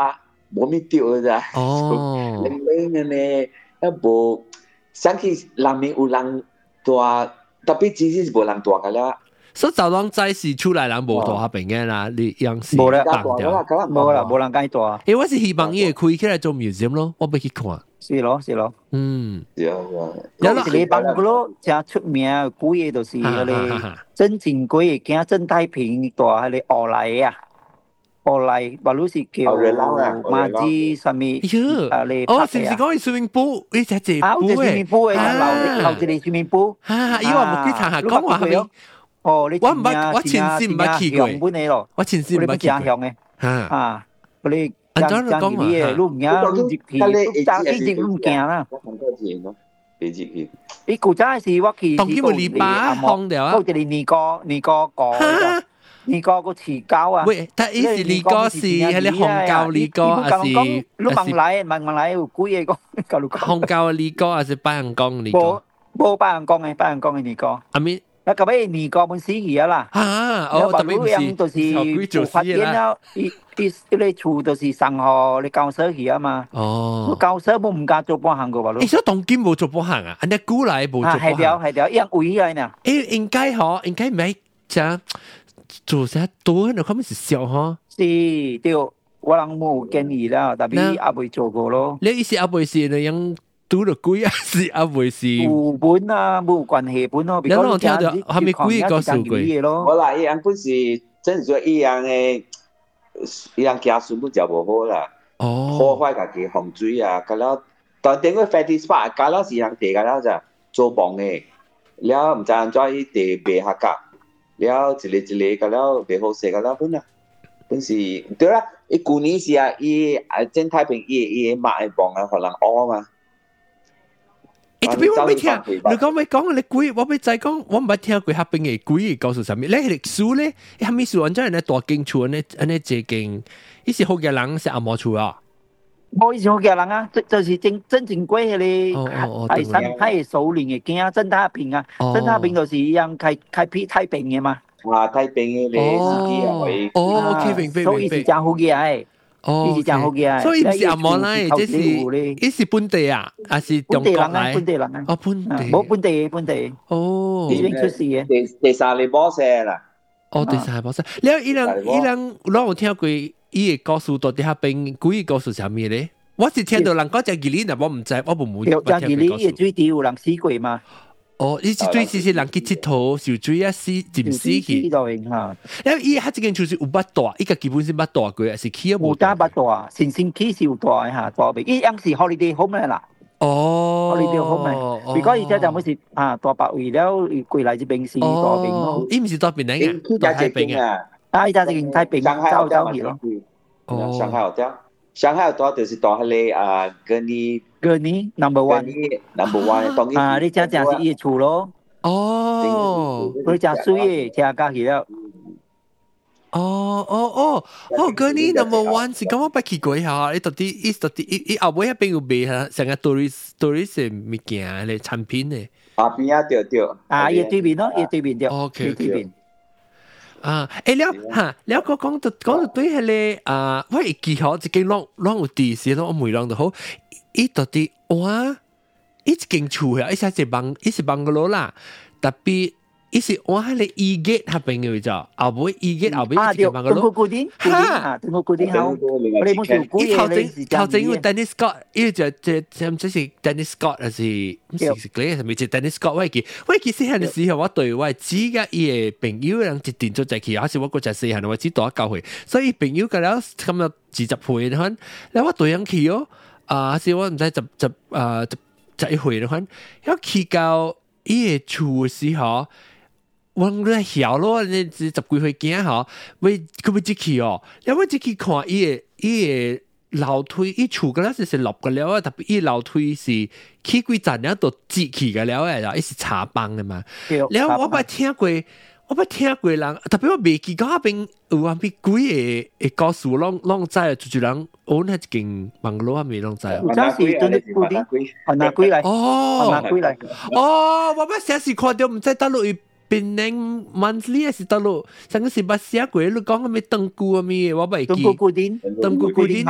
冇咩掉㗎咋。 哦， 零零嘅呢，一部想起南面有人大，特別只是無人大㗎啦。 所以就當在是出來人無大下邊嘅啦，你樣是冇啦， 冇冇啦，冇人介大。 誒，我是希望伊會開起來做 museum 咯，我要去看。 是咯，是咯。 嗯， 有有啦，你幫嗰咯，真出名嘅鬼嘢就是嗰啲真正鬼嘅，驚真太平大係你奧萊啊，奧萊，話如是叫馬子上面啊，你哦，是唔是講去 swimming pool？呢隻隻啊，就 swimming pool 嘅，留留住你 swimming pool。 啊，伊話冇去查下，講話係咪？ 哦，你我唔捌，我前世唔捌去過。 本嚟咯， 我前世唔捌去過。 嘅，啊，嗰啲。 按照你講嘛， 你唔驚，你入去，你揸機直唔驚啦。 我看過錢咯，幾隻去。 你古早是我去， 當佢冇禮拜放掉啊。 嗰啲尼哥尼哥講，尼哥個持膠啊。 喂，但係是尼哥是係你紅教尼哥，還是？ 你問來問問來有鬼嘢講，教你講。 紅教尼哥還是白人講尼哥？ 冇冇白人講嘅，白人講嘅尼哥。 阿咪。 那個尾尼哥本死去啊啦。 啊，哦，特別唔是就是發展了，一一一個厝就是上河你教授去啊嘛。 哦。 教授冇唔敢做半行個吧？ 誒，所以當今冇做半行啊？人哋古來冇做半行。 係條係條，一樣位嚟呢。 誒，應該嗬，應該唔係將做些多，你可能是少嗬。 是，對，我人冇建議啦，特別阿未做過咯。 你意思阿未是你樣？拄着鬼啊，是阿未是有本啊，冇關係本咯。 你攞聽到係咪鬼個數據？ 我啦，伊樣本是真係伊樣嘅，伊樣家屬都就無好啦。哦，破壞家己洪水啊，咁啦，但點個 fetish spot，咁啦是樣地咁啦就做房嘅，了唔知安怎伊地賣下價，了一個一個咁啦賣好勢咁啦本啊，本是對啦，伊舊年是啊，伊啊真太平，伊伊買房啊，可能屙嘛。誒，特別我未聽，你講未講你鬼，我未再講，我唔捌聽過下邊嘅鬼嘅告訴啥物。你歷史咧，下面是按照人哋大經厝安尼安尼借經，伊是好嘅人是阿毛厝啊。 冇以前好嘅人啊，就就是真真正鬼嗰啲係山太首領嘅驚，真太平啊，真太平就是一樣開開闢太平嘅嘛。啊， 太平嘅你司機啊，喂。 哦，OK，明白明白。 所以是真好嘅誒。 哦，所以唔是阿毛來，這是伊是本地啊，還是中國來？ 本地人啊， 哦，本地， 冇本地本地。 哦， 已經出事嘅。 第第三嚟波射啦。 哦，第三嚟波射。你伊人伊人，我有聽過伊嘅故事到底下邊鬼嘅故事係啥物咧？我是聽到人講隻吉利，但我唔知，我冇冇。 有隻吉利嘅水底有人死過嘛？ 哦，伊是最是是人去佚佗，受水啊死，浸死去。因為伊迄一間就是有捌大，伊個基本是捌大過，是起啊無。 有打捌大，先先起是有大嚇，大邊。伊樣是 holiday home 啦。 哦 ，holiday home 嚟。如果伊只就冇是啊大白為了過來這邊是大邊咯。 伊唔是大邊嚟嘅，大太平啊。 啊，伊只係太平，走走去咯。 哦，上海有啲，上海有多就是大迄個啊，嗰啲。 個你 number one，number one， 啊，你正正是伊厝咯。 哦， 佢正水嘅，聽家去了。 哦哦哦，哦，個你 number one 是咁我捌去過下，你到底伊到底伊伊後尾迄邊有賣下成個 tourist tourist 嘅物件咧產品咧。 啊邊啊對對。 啊，伊對面咯，伊對面對。 OK OK。啊，誒了嚇，了個講到講到對迄個啊，我會記好一間啷啷有地勢咯，我每啷都好。伊到底哇，伊一間厝啊，伊係一幫，伊是幫個佬啦，特別伊是哇，迄個伊結下邊嘅就，後尾伊結後尾一間幫個佬。 啊，固定，哈，定個固定好。我哋冇條古嘢咧，是頭前有 Dennis Scott，伊就就就唔知是 Dennis Scott 還是唔是是嗰個係咪就 Dennis Scott？我記，我記細漢嘅時候，我對我指甲伊嘅朋友人一定做在去，還是我嗰陣細漢我只多教會，所以朋友個了咁樣二十歲嗰陣，แล้ว我對人去哦。啊！是我唔知十十啊十十一歲嗰款，一去到伊個厝嘅時候，我咧曉咯，你十幾歲驚嗬，為佢要入去哦，然後我入去看伊個伊個樓梯，伊厝個咧是落個了啊，特別伊樓梯是起幾層了都擠起個了誒，伊是茶幫嘅嘛，然後我捌聽過。我捌聽過人，特別我未記到那邊有啊邊幾個誒故事，攏攏知啊，就就人我那一間網絡啊未攏知啊。 有陣時真係固定，係哪幾嚟？ 哦， 係哪幾嚟？ 哦，我捌寫時看到，唔知大陸伊變年 monthly 還是大陸，上個是捌寫過，你講個咩登姑啊咩？我捌記。 登姑固定， 登姑固定。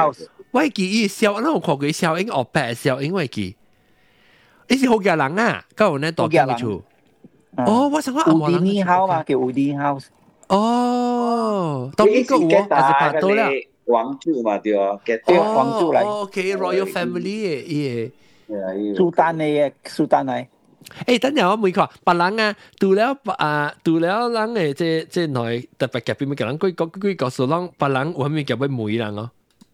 我記伊小，我有看過小英學白小英，我記，伊是好家人啊，跟我那大間嘅厝。哦，我想講阿毛人。 Udini House 嘛，叫 Udini House。 哦，當邊個我還是拍到了。 王族嘛對啊， 對王族嚟。 OK，Royal Family 嘅， 嘢。蘇丹嚟嘅，蘇丹嚟。 誒，等陣我問看，別人啊，除了啊，除了人誒，即即內特別夾邊咪叫人幾個幾個數人，別人有咩叫咩梅人咯？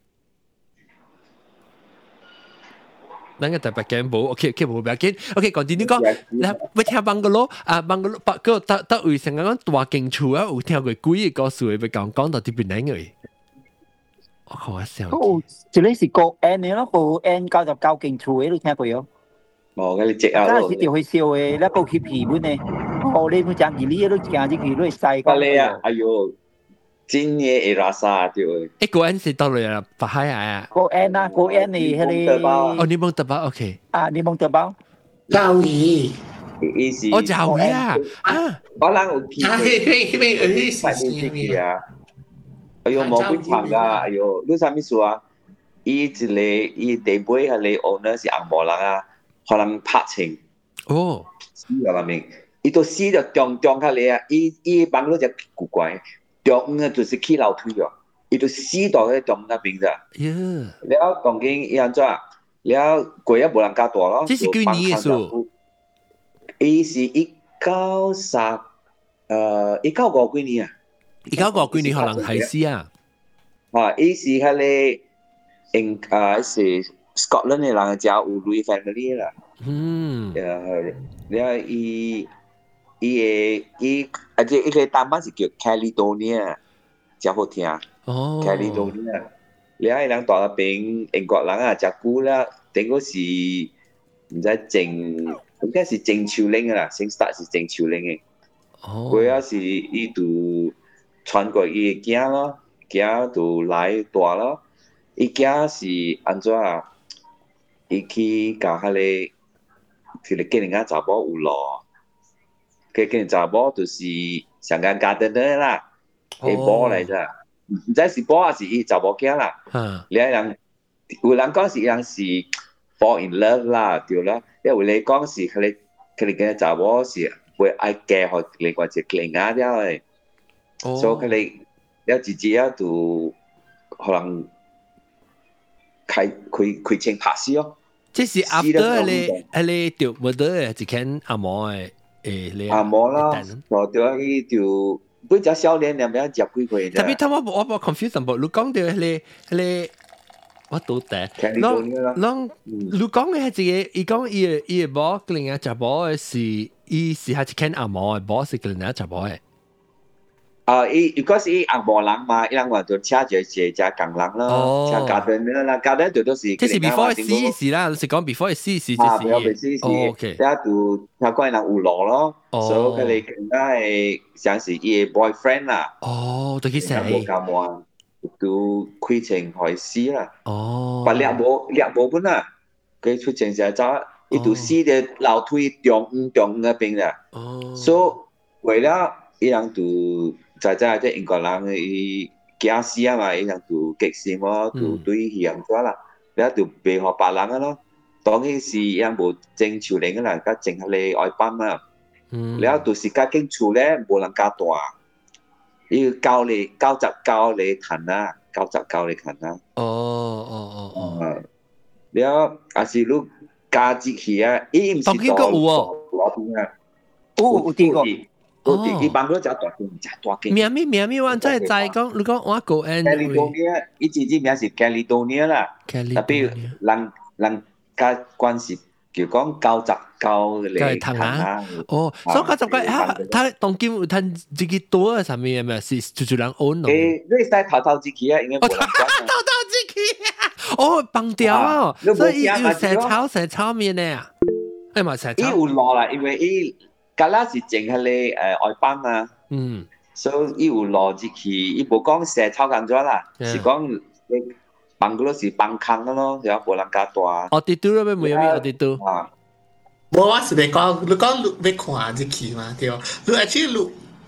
咱個特別嘅冇 ，OK OK 冇別緊 ，OK 講啲你講，嗱，我聽邦哥羅啊，邦哥羅，不過得得為成講大間厝啊，有聽過幾個故事會講講到啲邊嚟嘅。我靠我笑。 哦，就你是個 N 嘅咯，個 N 九十九間厝嘅，你聽過有？ 哦，嗰啲積啊！ 嗰陣時條去燒嘅，你個去皮本嘅，哦，你冇講二呢都講啲佢都係細個。 你啊，哎呦，今年會拉沙對。 誒，個 N 是到嚟啦，白海啊。 個 N 啊，個 N 係嗰啲。 哦，你蒙特包 ，OK。 啊，你蒙特包。 教義。 伊是。 我教義啊！啊， 我人有見。 啊，迄迄迄個迄是是咩啊？哎呦，冇幾長噶，哎呦，你啥物事啊？伊一個伊地尾係你 owner 是紅毛人啊。可能拍情哦， 死咗啦明，伊到死就中中下嚟啊！伊伊幫嗰隻古怪，中啊就是起樓梯哦，伊到死到喺中那邊咋？ 呀！ 了當今伊安怎？了過也無人加大咯。 這是幾年嘅數？ 伊是一九三，誒一九五幾年啊！ 一九五幾年可能係死啊！ 啊，伊是喺你英啊是。Scotland 嘅人就有 Royal Family 啦。 嗯。 誒，你睇伊伊嘅伊，而且伊個單班是叫 Caledonia， 真好聽。 哦。 Caledonia， 你睇人大嗰邊英國人啊，隻股啦，頂嗰時唔知鄭，應該是鄭秋玲嘅啦，先 start 是鄭秋玲嘅。 哦。 佢啊是伊度傳過伊嘅囝咯，囝度來大咯，伊囝是安怎啊？伊去教下你，佢哋見人家查某有咯，佢見人查某就是上間家庭的啦，係波嚟啫，唔知是波還是伊查某囝啦。你係人，有人講是人是 fall in love 啦，對啦。因為你講是佢哋佢哋嘅查某是會愛嫁互另外一個另外啲嘅，所以佢哋有自己啊度可能。開開開槍拍死哦！ 這是 after 你你條冇得一間阿毛嘅誒你阿毛啦，就對啊！伊條不只少年兩邊接幾個啫。特別他我我我 confuse 冇，你講到你你我到底，啷啷你講嘅係一個，伊講伊伊個某另外隻某嘅是，伊是係一間阿毛嘅某是另外隻某嘅。 啊！伊如果是伊紅毛人嘛，伊人話就車住係只工人咯，車家庭啦，家庭就都是。 即是 before 死時啦，是講 before 死時啊，before 死時， OK。 一度聽講人有落咯，所以佢哋更加係像是伊嘅 boyfriend 啦。 哦，對佢死。 冇咁話，都開情害死啦。 哦。 把掠無掠無本啊，佢出情就走，伊度死嘅樓梯中午中午嗰邊啦。哦。所以為了伊人度。在在即英國人伊驚死啊嘛，伊人就激死我，就對伊咁多啦，然後就背學別人啊咯。當起是伊人無正潮領啦，甲淨係你愛班啊。然後就是家境厝咧，無人加大，伊教你教習教你彈啊，教習教你彈啊。 哦哦哦哦。 然後也是你加節氣啊，伊唔是多攞邊啊。 哦，有啲個。 哦，伊幫佢只大間，只大間。 名咪名咪，我真係在講，你講我個 N。 Caledonia，伊自己名是 Caledonia 啦。Caledonia。人人家關係就講教習教嚟談啊。 哦，所以教習教嚇，他當今有談自己多啊，什麼嘢咩？是就就人 own 咯。 誒，你使頭頭自己啊，應該冇人管。頭頭自己啊！哦，綁掉啊！所以伊有蛇炒蛇炒面咧啊！誒嘛蛇炒。伊有落啦，因為伊。格拉是淨係你誒外班啊，嗯，所以伊有邏輯去，伊無講蛇炒緊咗啦，是講你放嗰個是放空咯，然後無人加大。 我哋都咧冇有咩？我哋都啊， 無我是咪講，你講你看日期嘛，對，你而且你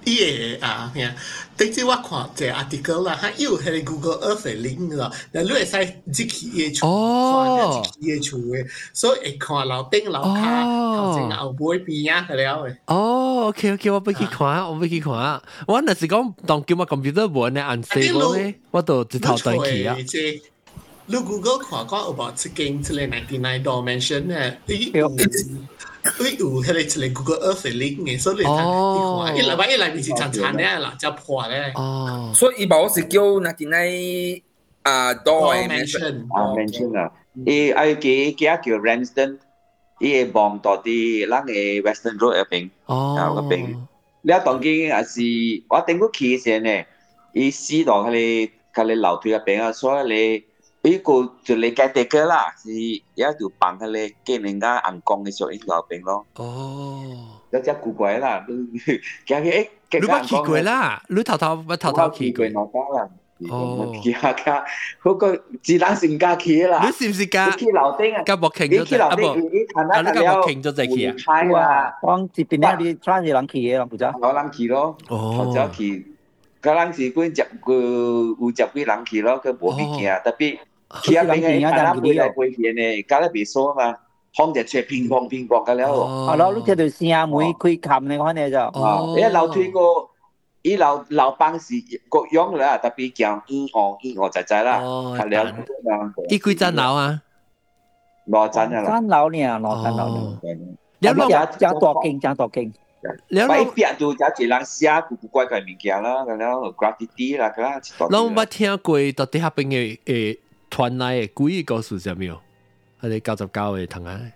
伊個啊，嚇，頂陣我看一個 article 啦，佢有迄個 Google Earth 嘅 link 咯，然後你會使入去伊個厝，看入去伊個厝嘅，所以會看樓頂樓骹頭前後尾邊啊，係了嘅。 哦 ，OK OK，我要去看，我要去看。我若是講當叫我 computer 本咧 unstable 咧，我就一頭轉去啊。 你 Google 看講有無一間即個 ninety-nine dimension 咧，伊有伊有迄個一個 Google Earth 嘅 link 嘅，所以你睇，伊內邊伊內面是殘殘咧，嗱只破咧。哦， 所以伊冇是叫 ninety-nine 啊 dimension 啊 dimension 啊，伊愛記記啊叫 Ramsden，伊會望到啲咱嘅 Western Road 嗰邊，啊嗰邊。你啊當見也是我頂過去先咧，伊試到佢哋佢哋樓梯嗰邊啊，所以你。伊個就你嘅地個啦，是一條綁佢哋見人家硬鋼嘅時候，伊後邊咯。哦，有隻古怪啦，你行去誒， 你冇去過啦，你頭頭我頭頭去過。 哦，去下下，嗰個自然性假期啦。 你是唔是加？ 去樓頂啊？ 加博慶咗就啊不？啊你加博慶咗就去啊？ 係啊，講這邊咧，你穿住人去嘅，人唔知。 有人去咯，或者去，嗰人是嗰隻個有十幾人去咯，佢冇去行，特別。去啊邊個？睇下背來背去呢，搞得別數嘛，放隻出乒乓乒乓㗎了。 係咯，你聽到聲妹開冚呢個呢就。 哦，因為樓梯個，伊樓樓板是各樣啦，特別講一二一二仔仔啦，係了。 伊幾層樓啊？ 六層啊啦。 三樓呢，六層樓。有冇正正大間，正大間。 你一邊就有一人寫古古怪怪物件啦，咁樣 graffiti 啦，咁啦。 我冇聽過到底下邊嘅誒。團內嘅鬼故事係咪？係你九十九嘅同學。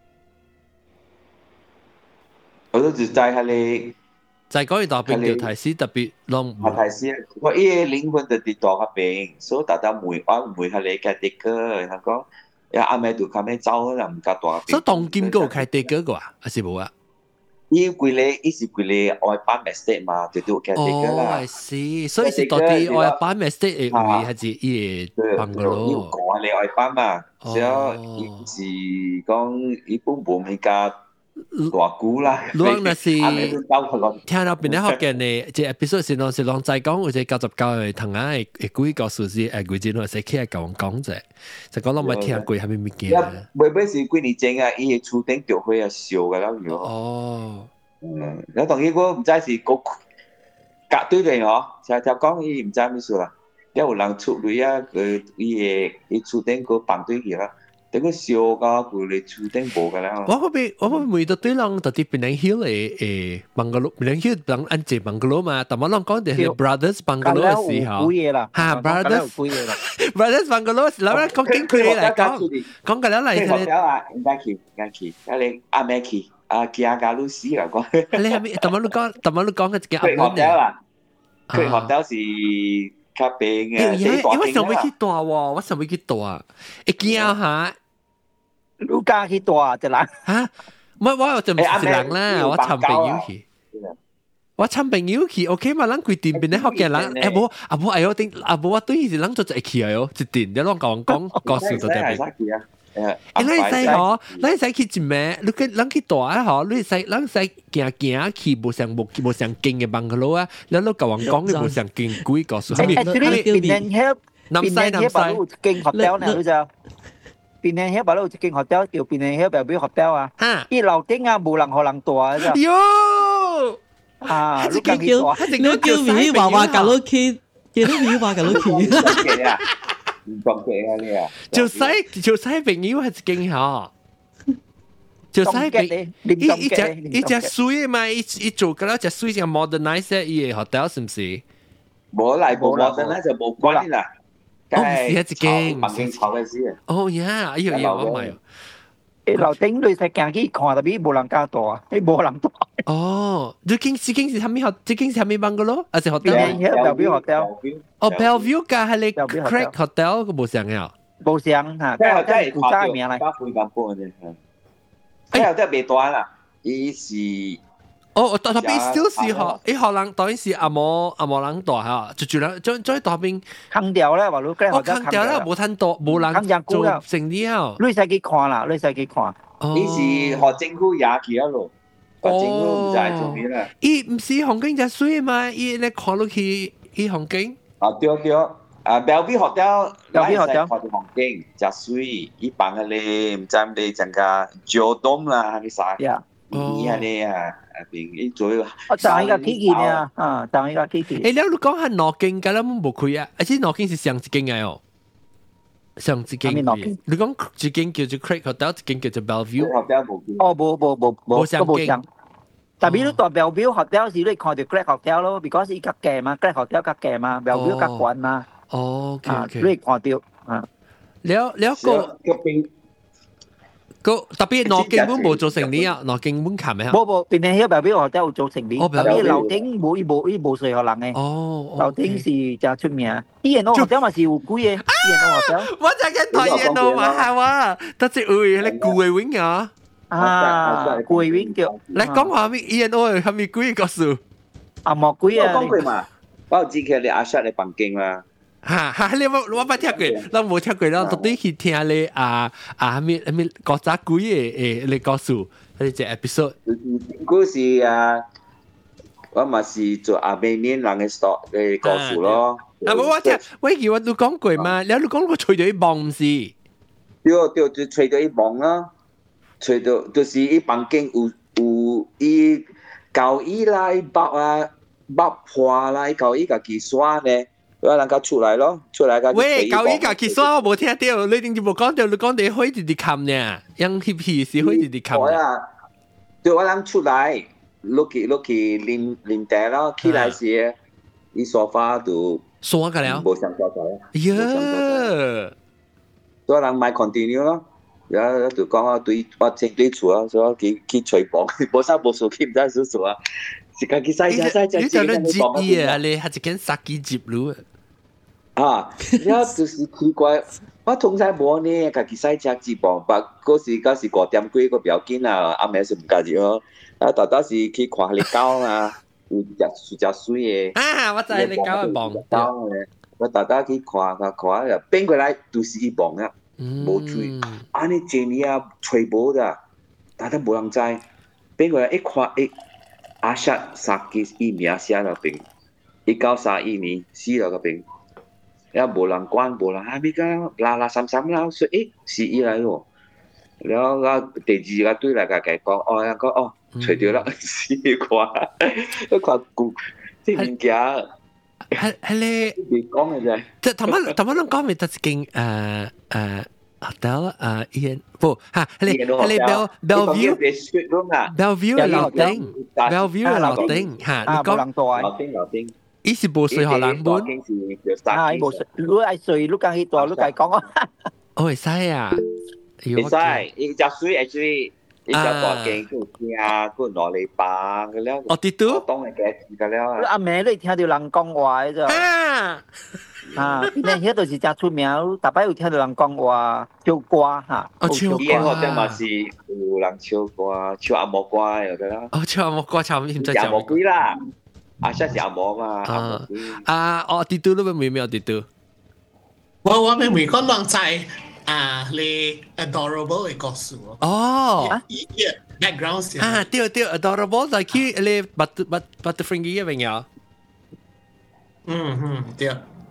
我都就在係你， 在嗰度邊條台詞特別long。 台詞，我依個靈魂就跌到嗰邊，所以大家每我每係你嘅地歌，然後講，呀阿妹就咁樣走啦，唔夠大。 所以當今嗰個開地歌個啊，還是冇啊？ 伊規個，伊是規個外班 estate 嘛，就都嘅地歌啦。 哦，係是，所以是到底外班 estate 嘅位，還是伊個 bungalow？ 要講你外班嘛，所以伊是講伊本本係加大股啦。 如果那是聽到邊啲學嘅呢？即係 episode 是當是當在講，或者九十九嘅同學嘅嘅鬼故事是誒鬼節，或者企喺講講者，就講到咪聽過係咪物件？ 每每是幾年前啊，伊嘅厝頂著火啊燒噶啦，如哦。 嗯，你當然我唔知是個隔對面嗬，就就講伊唔知咩事啦。有人出嚟啊，佢伊嘅伊厝頂個綁對去啦，等佢燒噶，佢哋厝頂冇噶啦。 我嗰邊我嗰邊每到對人到啲檳榔 hill 嘅誒 bungalow，檳榔 hill 等安靜 bungalow 嘛，但我諗講嘅係 brothers bungalow 嘅時候，嚇 brothers brothers bungalow，嗱咧講經佢嚟講，講緊嚟係咧。應該去，應該去，因為阿妹去。啊，見下路死啦！講你係咪？特晚你講，特晚你講嘅隻阿妹咧。佢學校是較平嘅。 因為上尾去大喎，我上尾去大，一見下， 你家去大就難嚇。唔係我就唔是人啦，我尋朋友去。我尋朋友去 ，OK 嘛？咱規店邊咧學嘅人，誒冇啊冇，哎呦頂啊冇，我對伊是人做一去啊喲，一店你攏講講故事就得邊。誒，你使嗬，你使去一咩？你去，咱去大啊嗬，你使，咱使行行去，無上無無上勁嘅bungalow啊，你都甲我講嘅無上勁鬼故事。 係咪？邊年遐，邊年遐把路勁學雕呢？你就邊年遐把路勁學雕叫邊年遐表表學雕啊？嚇！伊樓頂啊，無人學人大啊！喲！啊！你叫你叫咪娃娃甲你去，叫你咪娃娃甲你去。 唔講嘅啊你啊， 就使就使朋友係勁嚇，就使朋伊伊隻伊隻水嘛，伊伊做嘅啦，隻水就 modernize 伊嘅 hotel 是唔是？ 冇嚟冇 modernize 就冇關啦。 哦，唔是一間， 唔是炒嘅事。 哦呀，哎呀呀，我唔係。 誒樓頂你實行去看，特別冇人家大，誒冇人大。 哦，最近最近是係咪學？最近是係咪 bungalow？還是 hotel？ Bellevue hotel。 哦 ，Bellevue 㗎係你 Craig hotel 個冇上嘅。 冇上嚇，即係即係古仔名嚟。 加配咁搬嘅啫。誒，都係未斷啦，伊是。 哦，特特別少是學，誒學人當然是阿冇阿冇人大嚇，就住兩將將當邊坑掉咧，話你嗰我坑掉咧，冇睇到冇人做成了。 你使去看啦，你使去看。 伊是學政府也去一路。 個政府唔知做咩啦。 伊唔是風景真水嘛？伊咧看落去，伊風景。 啊對對，啊 Bellevue Hotel，Bellevue Hotel 看到風景真水，伊放嗰啲唔知唔知整個 Geodome 啦，係啥？呀，伊係咧啊，啊邊伊做一個。 我上一個基建啊，啊，上一個基建。 誒，你你講下羅景，咁樣冇開啊？而且羅景是上一間嘅哦。上一間嘅，你講一間叫做 Craig Hotel，一間叫做 Bellevue。 哦，冇冇冇冇， 都冇上。但係你代 Bellevue Hotel 時，你看到 Craig Hotel 咯 ，because 伊較貴嘛 ，Craig Hotel 較貴嘛 ，Bellevue 較貴嘛。 哦 ，OK OK。 你看到啊？ 了了個個特別羅景本冇做成呢啊，羅景本琴咩啊？ 冇冇，邊啲喺 Bellevue Hotel 做成呢？特別樓頂冇伊冇伊冇水可能嘅。 哦， 樓頂是真出名。伊人我 hotel 嘛是有貴嘅，伊人我 hotel。 我就跟台人我話係話，得隻會你貴嘅winga。 啊，貴 wing 叫。 你講話咩？伊人我係咪貴個數？ 啊，冇貴啊。 我講過嘛，我有知佢你阿 Shut 你房間嘛。 哈哈，你我我捌聽過，我冇聽過，我特地去聽你啊啊咩咩國家貴嘅誒你告訴你隻 episode。 嗰時啊，我咪是做阿美面人嘅 stock 嘅告訴咯。 啊冇我聽，喂叫我都講過嘛，你都講過吹到一磅唔是？ 對對，就吹到一磅啦，吹到就是一房間有有伊舊衣啦，伊包啊包破啦，伊舊衣家己刷咧。我能夠出來咯，出來個。 喂，舊依家其實我冇聽到，你點解冇講到？你講你開直直冚呢？讓翕翕是開直直冚啊！對，我諗出來，落去落去淋淋茶咯，起來時，伊沙發度刷個了， 冇上沙發。 呀！ 所以人買 continue 咯，然後就講我對我正對厝啊，所以我去去吹房，冇啥冇數，去唔知數數啊。是家己洗洗洗洗。 你就能接伊啊？你係一間殺雞接路。 啊，然後就是奇怪，我通常冇呢，家己洗隻紙磅，但嗰時嗰時五點幾個表緊啊，阿妹是唔介意咯。啊，大大是去看你狗啊，有隻隻水嘅。 啊，我知你狗嘅磅。 狗嘅，我大大去看看看，又變過來都是一磅啊，冇水。啊，你正你啊，吹波的，大家冇人知，變過來一看一阿薩殺雞一名寫落邊，一九三一年死落個邊。然後無人管，無人啊！咪講拉拉散散啦，說誒是伊來咯。然後我第二個對嚟個佢講，哦，人講哦，除掉啦，是啩？一看古即物件， 係係你你講嘅啫。 即係頭先頭先講咪得一間誒誒 hotel 誒伊不嚇係你係你 Bell Bellevue Bellevue 嘅樓頂 Bellevue 嘅樓頂嚇，你講樓頂樓頂。 伊是無水荷人本， 啊！伊無水，如果係水，你講去大，你講講啊。 哦，會使啊， 會使，伊隻水 actually，伊隻大間佢聽，佢攞嚟放嘅了。 哦，啲都當係嘅嘅了。 阿妹你聽到人講話嘅啫。 啊啊！你迄度是真出名，逐擺有聽到人講話唱歌嚇。 哦，唱歌。 伊嗰陣嘛是有人唱歌，唱阿莫歌有嘅啦。 哦，唱阿莫歌，唱唔知阿莫歌啦。阿 Shut 是阿嬤嘛？ 啊啊！哦，啲都都未未有啲都。 我我明明講亂仔啊，你 adorable 嘅故事咯。 哦。 依個 background 先。 啊，對對 adorable 就係你 but but butterfringy 嘅朋友。 嗯嗯，對。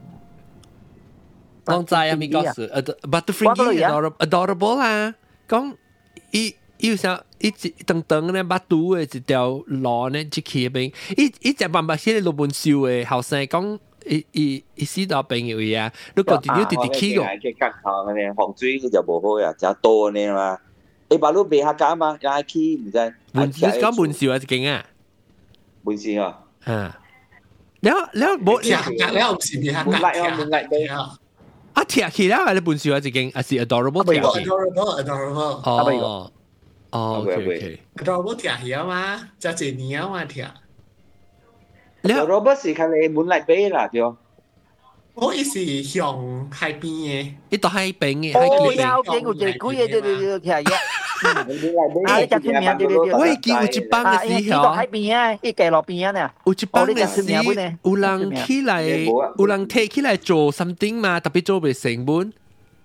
亂仔啊，咪故事 butterfringy adorable adorable 啊，講伊。伊想一直等等咧，把肚嘅一條路咧，即起邊，伊伊只慢慢寫落本書嘅後生講，伊伊伊死到朋友啊，你講條條直直起個。 嘅隔行嘅咧，防水就無好呀，就多呢嘛。你把路別下架嘛，又係起唔知。 門你講門少啊，一間啊。 門少啊。 啊。แล้วแล้ว冇。 แล้ว唔是別下架。 門嚟啊，門嚟嘅。 啊，貼起啦，係你本少啊，一間，係是 adorable 貼起。 adorable adorable。 哦。哦 ，OK OK。 adorable 貼起啊嘛，就一年啊嘛貼。 adorable 是佢哋門嚟俾啦，對。 我伊是向海邊嘅， 伊到海邊嘅， 海邊邊。哦，有一個對對對對貼嘅。啊，你真出名對對對。 我記有一幫嘅時候， 到海邊啊，伊街路邊啊呢。 有一幫嘅時，有人起來，有人提起來做 something 嘛，特別做袂成本。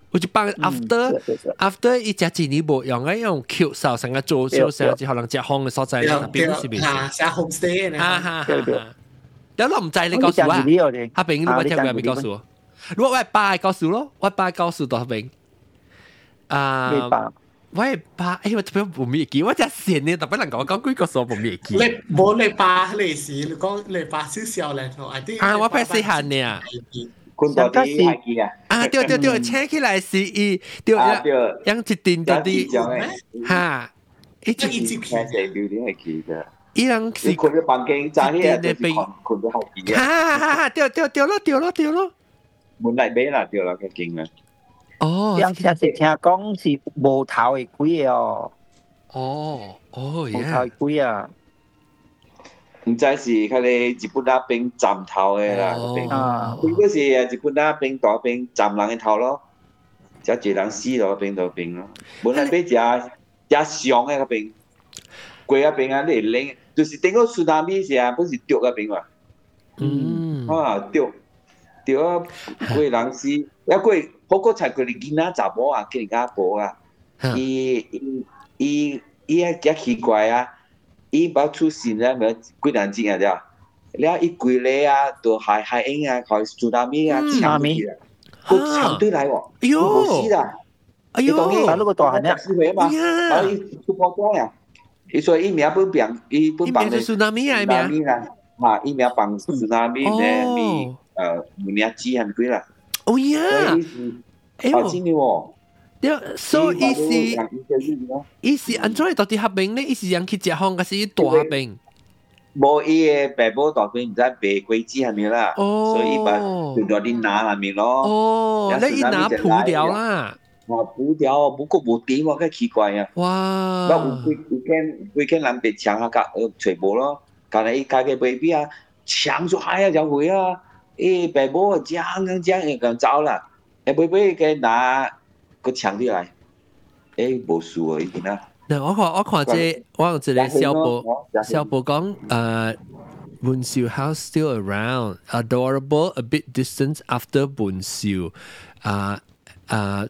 我就幫 after after 一隻錢你無用嘅用 Q 手成個做小成之後能隻烘嘅所在，特別是邊啊，寫 homestay 呢？ 哈哈哈哈！有諗唔制你告訴我啊？阿炳，你冇聽過咪告訴我？如果我係爸告訴咯，我爸告訴到阿炳。啊，我係爸，誒我特別冇咩記，我真係呢，特別能講講幾個數冇咩記。 你冇你爸你時，你講你爸少少咧，我啲啊，我拍細漢呢。 คุณตัวดีไอ้กี่อ่ะอ่าเดี๋ยวเดี๋ยวเดี๋ยวแช่ขี้ไหลสิอีเดี๋ยวยังจิตตินตัวดีฮะอีจิตตินแค่เสียดูดิไอ้กี่จ้ะอียังสิคุณจะปังเก่งจ้าที่จะเป็นคุณจะหกกี่ฮ่าฮ่าฮ่าเดี๋ยวเดี๋ยวเดี๋ยวแล้วเดี๋ยวแล้วเดี๋ยวแล้วมุนไหลเบ้ล่ะเดี๋ยวเราแค่เก่งนะอ๋อยัง聽是聽講是無頭的龜哦哦哦無頭的龜啊唔知是佢哋日本那邊站頭嘅啦，佢嗰時啊日本那邊嗰邊站人嘅頭咯，就一人死咗邊度邊咯。本來俾只只上嘅嗰邊，貴嗰邊啊你拎，就是頂個蘇南米時啊，不是掉嗰邊嘛。 嗯。 啊掉掉啊貴人死，一貴好個才佢哋見啊查某啊，見人家婆啊，伊伊伊伊啊幾奇怪啊！伊把出現咧，咪幾難知啊？啫，你啊一貴咧啊，到海海英啊，佢蘇南米啊，搶米啊，佢搶對嚟喎，冇事啦。 哎呦， 打嗰個大漢咧， 機會啊嘛，然後伊出破光啊，伊所以伊名本病，伊本病係蘇南米啊， 蘇米啦，嚇，伊名病蘇南米咧，米誒唔名字係幾啦？ 哦呀， 哎呦，真嘅喎。 對，所以是伊是安怎到底合併呢？伊是人去食烘，還是大合併？ 無伊個爸母大邊唔知白龜子係咪啦？所以伊把就到啲拿係咪咯？ 哦，你伊拿鋪掉啦？ 哇，鋪掉，不過無點喎，咁奇怪啊！ 哇！ 那有幾幾間幾間人被搶下甲，全部咯，但係伊家嘅 baby 啊，搶咗海啊就會啊，誒爸母啊將咁將咁走啦，誒 baby 嘅拿。個搶啲嚟，誒冇數啊！已經啦。 嗱，我看我看這我有一個小報小報講，誒文秀 house still around, adorable, a bit distant after 文秀，啊啊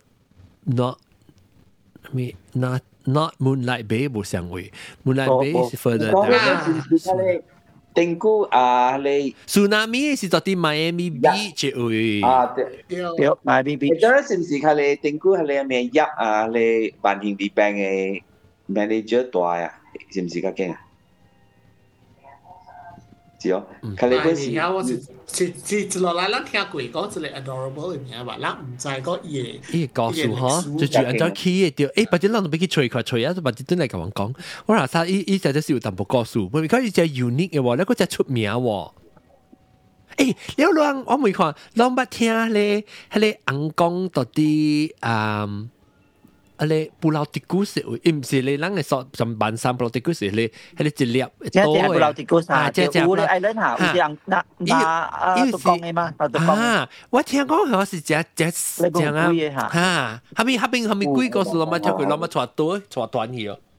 not me not not Moonlight Bay 冇相位 ，Moonlight Bay 是 further down。 定估啊，你 tsunami 是到啲 Miami Beach 位啊，對對 ，Miami Beach。 你嗰陣時唔是佢哋定估係你咩入啊？你萬興地病嘅 manager 大啊，是唔是咁驚啊？是哦，佢哋嗰時。 而家我是是是一落來，咱聽過講一個 adorable 嘅名吧，咱唔知個嘢。 伊告訴嗬，就住按照起嘅掉，誒，或者咱都俾佢吹開吹啊，或者真係咁樣講。我話曬，伊伊只只是有淡薄告訴，不過伊只 unique 嘅喎，你嗰只出名喎。誒，你有兩我未看，兩捌聽咧，迄個翁講到啲嗯。啊！你布勞迪古斯，伊唔是你人嘅所上半山布勞迪古斯，你係你一粒多嘅。布勞迪古斯啊，即係有啲愛人嚇，有啲人那那啊都講嘅嘛，都講。啊， 我聽講好似只只只啊，嚇，後面後面後面幾個數攞乜跳佢攞乜錯多錯短去哦。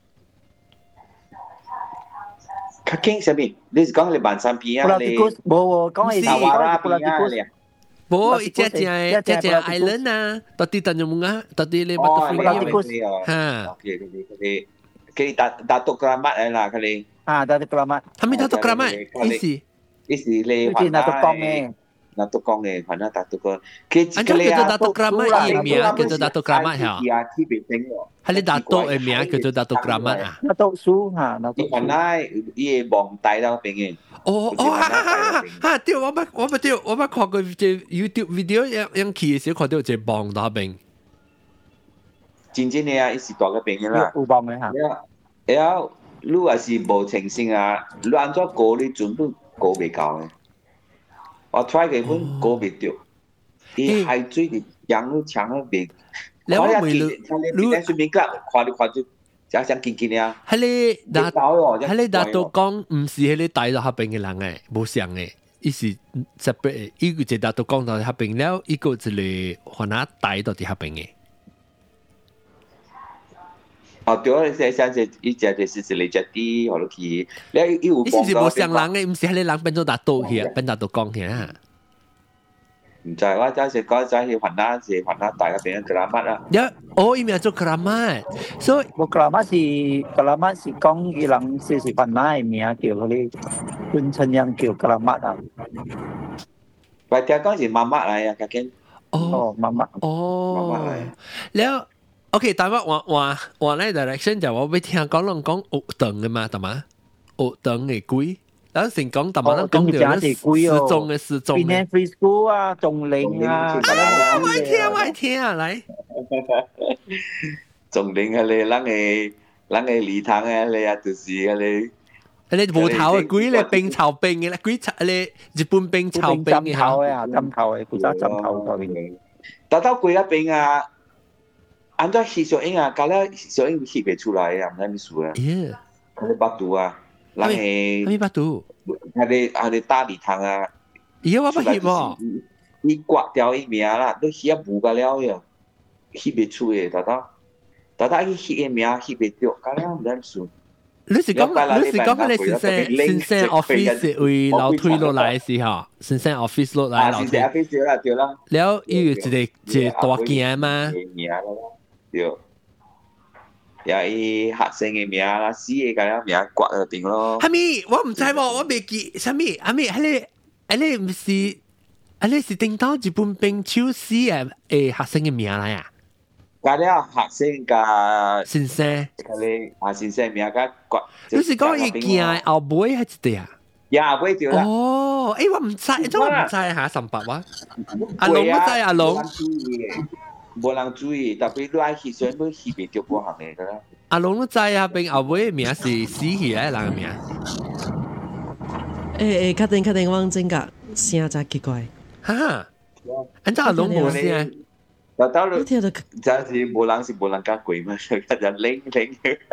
較驚什麼？你是講你半山邊啊？ 布勞迪古斯冇講係沙瓦拉布勞迪古斯。 冇，一隻隻一隻隻 island 啊，到底等咗冇啊？到底你乜都飛嘅？嚇，佢哋佢哋佢哋打打獨格乜嚟啦？佢哋啊，打獨格乜？ 係咪打獨格乜？意思意思你話打獨講嘅， 打獨講嘅，反正打獨個。 佢佢哋叫做打獨格乜嘅名，叫做打獨格乜嚇？係你打獨嘅名叫做打獨格乜啊？ 打獨書嚇，打獨。 原來伊個網大到邊嘅？ 哦哦哈哈哈！哈對，我捌我捌對，我捌看過隻 YouTube video，樣樣去嘅時候看到隻網打邊。 真正嘅啊，伊是大個邊嘅啦。 有網嘅嚇。 然後你話是無誠信啊，你按怎過你全部過未夠嘅。我 try 嘅本過未到，伊海水嘅養都搶咗未。 你我未你你你上面㗎，看你看住。就想見見啊！ 喺你達喺你達到講唔是喺你帶到合併嘅人誒，冇上嘅，伊是 separate，伊個就達到講到合併了，伊個就嚟可能帶到啲合併嘅。 哦，對啊，你寫寫寫，伊只就是是你只啲，我都去，你伊有講到。伊是冇上人嘅，唔是喺你人變咗達到去啊，變達到講去啊。 唔知我真係嗰陣去雲南是雲南大嘅邊個格拉麥啊？ 呀，哦，伊名做格拉麥，所以我格拉麥是格拉麥是講伊人是是雲南嘅名叫嗰啲本親人叫格拉麥啊。 或者講是媽媽嚟啊，究竟哦媽媽哦媽媽嚟。 แล้ว OK แต่ว่าว่าว่าว่าใน direction 就ว่าไป聽講攏講學堂嘅嘛，係嘛？學堂嘅鬼。咱先講，但係咱講到咧失蹤嘅失蹤嘅 ，free school 啊，仲領啊， 我愛聽，我愛聽啊，來， 仲領啊你，咱嘅咱嘅禮堂啊你啊，就是啊你， 你無頭嘅鬼咧冰炒冰嘅咧，鬼炒咧日本冰炒冰嘅， 針頭嘅啊，針頭嘅，古早針頭嗰邊， 打到鬼嗰邊啊，按照翕小影啊，搞了小影翕唔出來啊，唔知咩事啊， 耶， 我巴肚啊。咱誒， 咩巴肚？ 係你係你大禮堂啊！ 而家我不翕喎， 你刮掉伊名啦，你翕啊無個了嘅，翕袂出嘅，大大，大大伊翕嘅名翕袂着，搞了唔知數。 你是講你是講你先生先生 office 為樓推落來嘅時候，先生 office 落來樓推。 啊，先生 office 啦，對啦。 了，伊有一個一個大件嘛？ 名啦，對。呀！伊學生嘅名啦，死嘅咁樣名刮就定咯。 係咪？我唔知喎，我未記。啥咪？係咪？係你係你唔是？係你是定到日本兵手死嘅誒學生嘅名嚟啊？ 加了學生加先生， 佢哋啊先生名加刮。 你是講伊件後尾係一啲啊？ 呀，後尾對啦。 哦，誒我唔知，真我唔知嚇，三百哇！阿龍唔知阿龍。 無人注意，特別你愛翕相，要翕袂着嗰行嘅㗎啦。 阿龍都知啊，並後尾名是死去嘅人嘅名。 誒誒，確定確定，我真個聲真奇怪。 哈，按照阿龍冇聲。 但到你聽到真是無人是無人敢鬼嘛，人領領。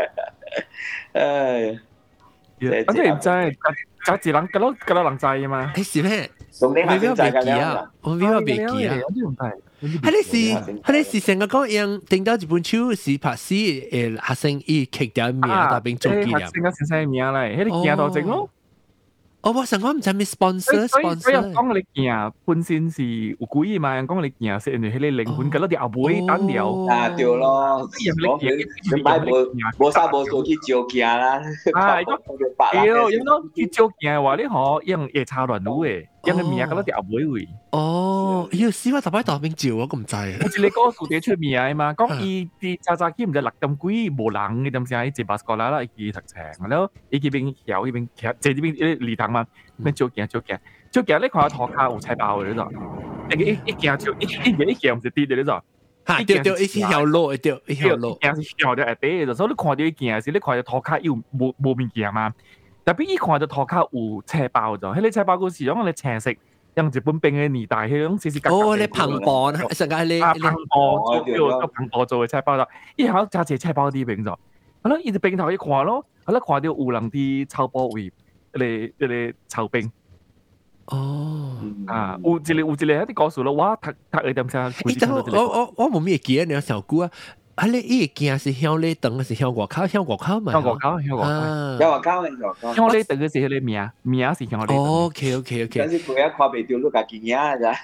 唉， 反正唔知，就自人嗰攞嗰攞人知啊嘛。 誒是咩？ 我未必未記啊，我未必未記啊。係你是係你是成個講樣定到日本手是拍死誒學生伊刻掉名，但並做紀念。 學生嘅先生名嚟，迄個件頭整咯。 哦，我成個唔知咩 sponsor sponsor。 所以講你件本身是有鬼嘛，講你件是因為迄個靈魂嗰粒後尾單料。 啊對咯，你買無無啥無做去招件啦。 啊，對，有喏去招件話，你可用夜叉亂舞誒。因為名嗰粒後尾位。 哦，要死我特擺當兵照我咁唔知。 有一個故事出名嘛，講伊啲早早起唔知六點幾無人嘅點先，伊一巴過來啦，伊讀冊，然後伊嗰邊橋，伊邊橋，即係呢邊禮堂嘛，咩照鏡照鏡，照鏡你看頭殼有菜包嘅呢度，一一鏡照一一嘢一鏡唔是跌嘅呢度， 嚇掉掉一條路，一條一條路， 鏡是掉掉下底嘅，所以你看到啲鏡時，你看到頭殼有冇冇面鏡嘛？特別伊看到頭殼有菜包咗，迄個菜包嗰時講你青色。用日本兵嘅年代，迄種時時格格。 哦，你澎湃，成個你啊澎湃做做澎湃做嘅菜包啦，伊好揸隻菜包啲兵咗，好啦，伊隻兵頭一看咯，好啦，看到有人啲草包位，嚟嚟炒兵。 哦， 啊，有一個有一個喺啲告訴咯，我讀讀嘅點先。 誒，等我我我冇咩記啊，你有小姑啊？啊！你伊個鏡是向你等，是向外口，向外口嘛？ 向外口，向外口， 向外口，向外口。 向你等嘅是迄個名，名是向你等。 哦 ，OK，OK，OK。 但是佢一看袂到，你家己影咋？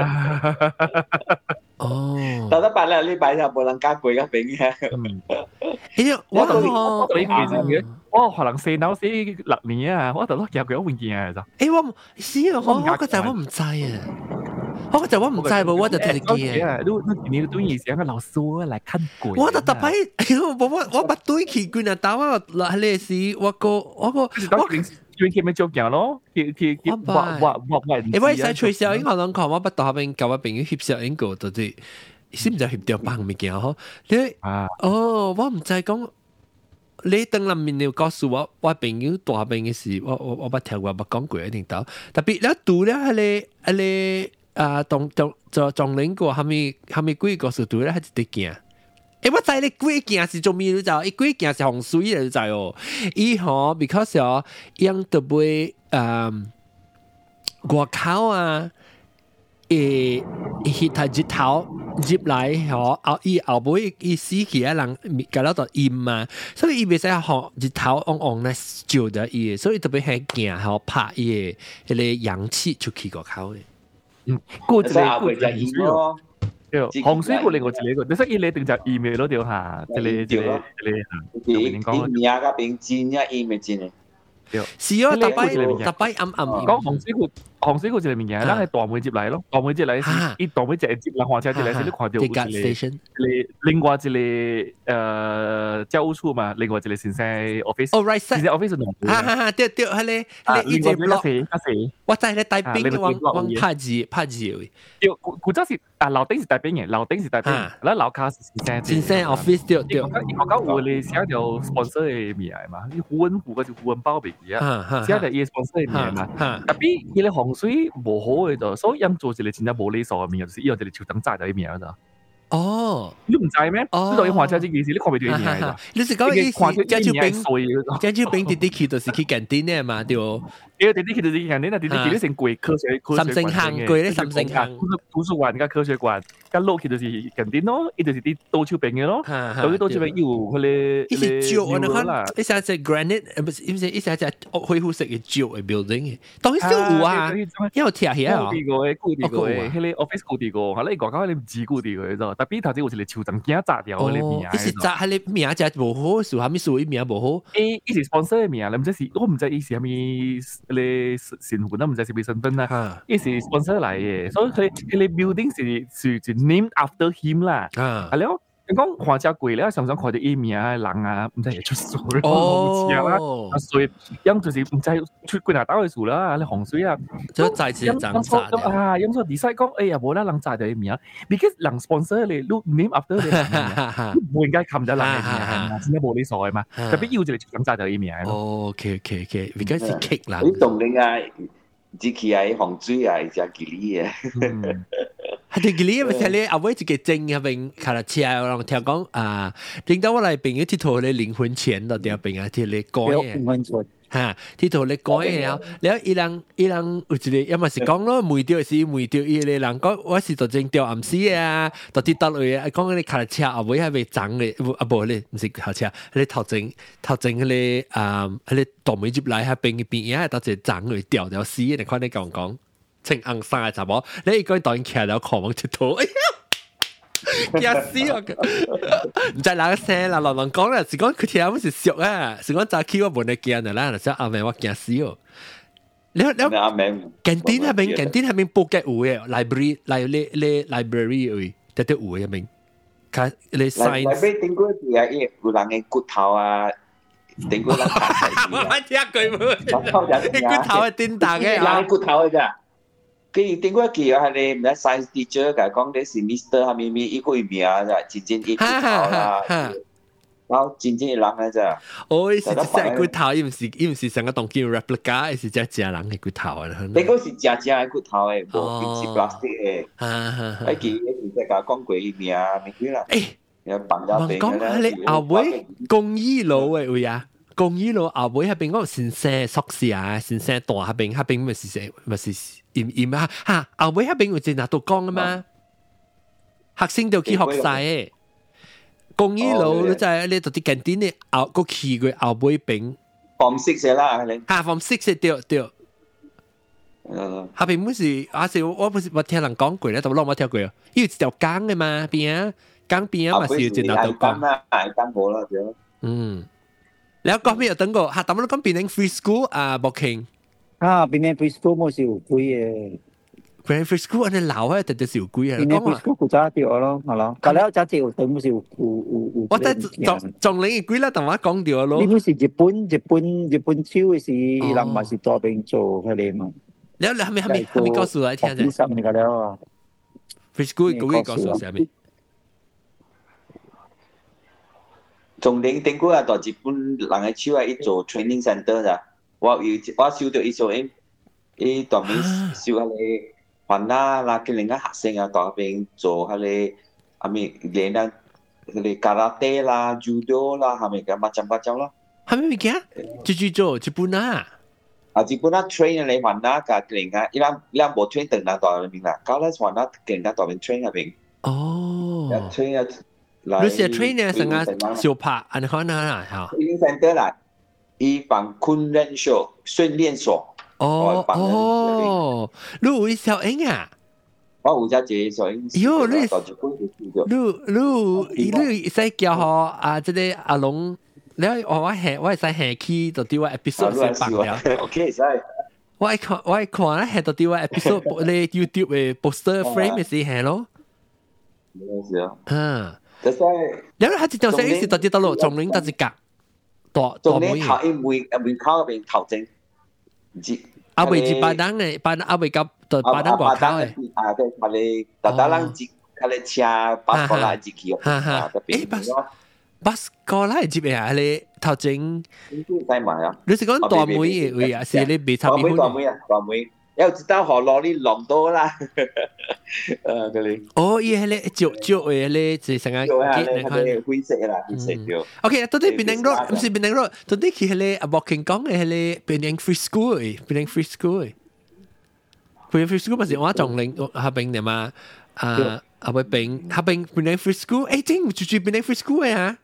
哦。 到得八兩禮拜就冇人加貴嘅餅嘅。 誒，我同我同你其實嘅，我可能四樓四六年啊，我同你夾佢一換件啊就。 誒，我是啊，我我嗰陣我唔知啊。我就我唔知喎，我就睇見啊。你你你對以前個老師來看鬼。 我就特別，我我我不對佢佢那打我嗱你是我個我個我。 最近咪做鏡咯，佢佢佢畫畫畫畫。 誒，我使吹小影可能講我不到邊教我朋友翕小影個，到底是唔是翕掉幫物件嗬？你哦，我唔知講。你等臨面你告訴我，我朋友大病嘅事，我我我不聽過，不講過一定到。特別咧讀咧係你係你。啊，當當做撞領過，係咪係咪幾個數度咧？係一啲件。誒，我知你幾件是做咩？你就伊幾件是洪水嚟，你知哦。伊吼 ，because 哦，用特別誒外口啊，誒，迄台日頭入來吼，後伊後尾伊死去啊，人搞到度陰嘛，所以伊袂使吼日頭旺旺咧照咗伊，所以特別係件吼拍伊嘅迄個陽氣出去外口嘅。 嗯，過一個過一個洪水咯， 對，洪水過另外一個，你說伊嚟定就 email 咯，對嚇，一個一個一個， 啲啲名嗰邊真呀 email 真嘅。 是啊，特擺特擺暗暗。 講洪水過，洪水過一個物件，咱係大門接來咯，大門接來是，伊大門接接，人火車接來是你看到有一個，另外一個誒教務處嘛，另外一個先生 office， 哦 right side， 先生 office 兩個， 哈哈哈，對對，係咧，係咧，一隻 block，我知咧大兵往往拍字拍字嘅， 對，古早是啊樓頂是大兵嘅，樓頂是大兵，嗱樓卡是先生， 先生 office 對對， 伊學校有咧寫條 sponsor 嘅名嘛，你胡文胡個就胡文包俾佢啊，寫條伊 sponsor 嘅名嘛，特別伊咧洪水無好嘅就，所以飲做一個真正無理數嘅名，就是以後一個手燈炸咗嘅名咋。哦，你唔知咩？你落去看車這件事，你看唔到伊名咋？ 你是講意思？張超炳，張超炳弟弟去就是去近啲呢嘛，對。 對，弟弟去就是近啲啦，弟弟去咧成貴科學科學館， 三星行貴咧，三星行圖書館加科學館，加落去就是近啲咯，伊就是啲倒超炳嘅咯，到啲倒超炳要佢咧， 伊是石啊，你看，伊成隻 granite，唔是，伊是伊成隻恢復式嘅石嘅 building 嘅，當然少有啊，因為貼起啊， 固定個，固定個，迄個 office 固定個，係咧外口你唔知固定個啫。特別頭先有一個樹藤驚炸掉嗰啲名， 伊是炸迄個名真無好，樹下面樹伊名無好。 誒，伊是 sponsor 嘅名，你唔知是，我唔知伊是蝦米咧身份啦，唔知是咩身份啦。伊是 sponsor 嚟嘅，所以佢佢哋 building 是是是 named after him 啦。係咯，你講看只貴咧，常常看到伊名人啊，唔知係出水咯，唔知啦，啊水，因就是唔知出幾哪打嘅樹啦，你洪水啊， 就再次漲炸啊，因所以 decide 講，哎呀，無啦，人炸咗伊名 ，because 人 sponsor 你 look name after 你，唔應該冚咗人嘅名，真係無理數嘅嘛，特別要就你人炸咗伊名。 哦 ，OK OK OK，because 是 kick 啦。 你懂你啊？只起係洪水啊，只吉利嘅。 係啲吉利咪睇你阿妹一個證入邊卡拉車，我人聽講啊，點解我嚟邊個鐵佗你靈魂錢到點邊啊？鐵你講嘅。嚇，鐵佗你講嘅了，然後伊人伊人有一個，要麼是講咯，梅掉是梅掉，伊個人講我是做正掉暗時啊，到跌倒落去，講嗰啲卡拉車後尾係咪漲嘅？啊無咧，唔是卡車，嗰啲頭前頭前嗰啲啊，嗰啲倒霉入來喺邊嘅邊，而係到隻漲落掉掉死，你看你講講，清硬生嘅查某，你一個人當然騎到狂往鐵佗，哎呀！驚死我！唔知哪個聲啦，人人講啦，是講佢聽我是俗啊，是講早起我冇得驚的啦，就說阿妹我驚死哦。你你阿妹， 近點係邊？近點係邊報嘅有嘅 library，嚟你你 library 會得得有嘅邊？佢你 science。 library 點過係啊？有人嘅骨頭啊，點過人睇睇。 我聽佢冇。骨頭係點打嘅？ 人骨頭嘅咋？佢點過記啊？係你唔係 science teacher 㗎，講你是 Mister 係咪咪一個名啊？真正一骨頭啦，然後真正一人嘅咋？ 哦，是只隻骨頭，伊唔是伊唔是成個當叫 replica，是只隻人嘅骨頭啊！ 你嗰是只只嘅骨頭誒，唔是 plastic 嘅。係記一時即係講過伊名咪幾啦？誒，有朋友俾嘅啦。 你後尾公益路誒位啊？公益路後尾喺邊嗰個先生宿舍啊，先生大喺邊，喺邊咪是誰咪是？驗驗啊嚇！後尾喺邊會正拿到講啊嘛，學生就去學曬嘅。公益路你就係你到啲近點你後個期嘅後尾邊 form six 啦，你嚇 form six 對對。下邊唔是啊？是我不是我聽人講過咧，但係我冇聽過啊。因為一條江嘅嘛，邊啊江邊啊嘛是正拿到講。 係江冇啦，就嗯。你講咩又等過嚇？但係我講邊啲 free school 啊，博慶。 啊，邊啲 preschool 冇少貴嘅， 邊啲 preschool 你老啊，特特少貴啊。 邊啲 preschool 古早掉咯，係咯。隔離有隻有對冇少有有有。 我睇仲仲你貴啦，同我講掉咯。 呢個是日本日本日本超嘅是人咪是做邊做佢哋嘛。 你你係咪係咪係咪告訴我聽啫？ 十年㗎啦。 preschool 嗰個告訴我係咪？ 從零點過啊，到日本人嘅超係一做 training center 咋。我有我收到一做誒，伊當面收下你還啦，嗱佢另一學生啊，當邊做下你阿咪練啊，佢哋 karate 啦、judo 啦，係咪咁macam-macam咯？ 係咪咪嘅？做做做日本啊！ 啊，日本啊 train 你還啦，個另啊，伊兩兩部 train 等啦，當邊啦，搞咧還啦，更加當邊 train 入邊。 哦。 train 啊， 你是 train 呢？成個小拍，安可能啊嚇。 training center 啦。一般訓練所、訓練所。 哦哦，你會小英啊？ 我有只隻所以喲你到一本就輸咗。 你你你使叫我啊，即個阿龍，你我我下我係使下去到啲我 episode 先白了。 OK，使。 我係看我係看咧，下到啲我 episode 你 YouTube 嘅 poster frame 是下咯。 冇事啊。 嗯。 就係。 然後佢一條線一直到啲到路，總領到一格。大總領頭一門門口嗰邊頭正，唔知。阿未至巴登嘅，巴阿未夾到巴登外口嘅。 啊，對，巴你特特人接，佢哋車巴過來接佢。 哈哈。誒巴巴過來接嘅啊，你頭正。 使埋啊！ 你是講大妹嘅位啊？是你未插邊大妹啊，大妹。又知道何攞啲浪多啦。誒，嗰啲。 哦，伊係咧腳腳嘅咧，就成日結你看。灰色啦，灰色條。 OK，到底檳城 road 唔是檳城 road，到底佢係咧阿莫慶講嘅係咧檳城 free school 嘅，檳城 free school 嘅。檳城 free school 咪是我仲領下邊嘅嘛？啊，阿位檳下邊檳城 free school，誒，真住住檳城 free school 嘅啊？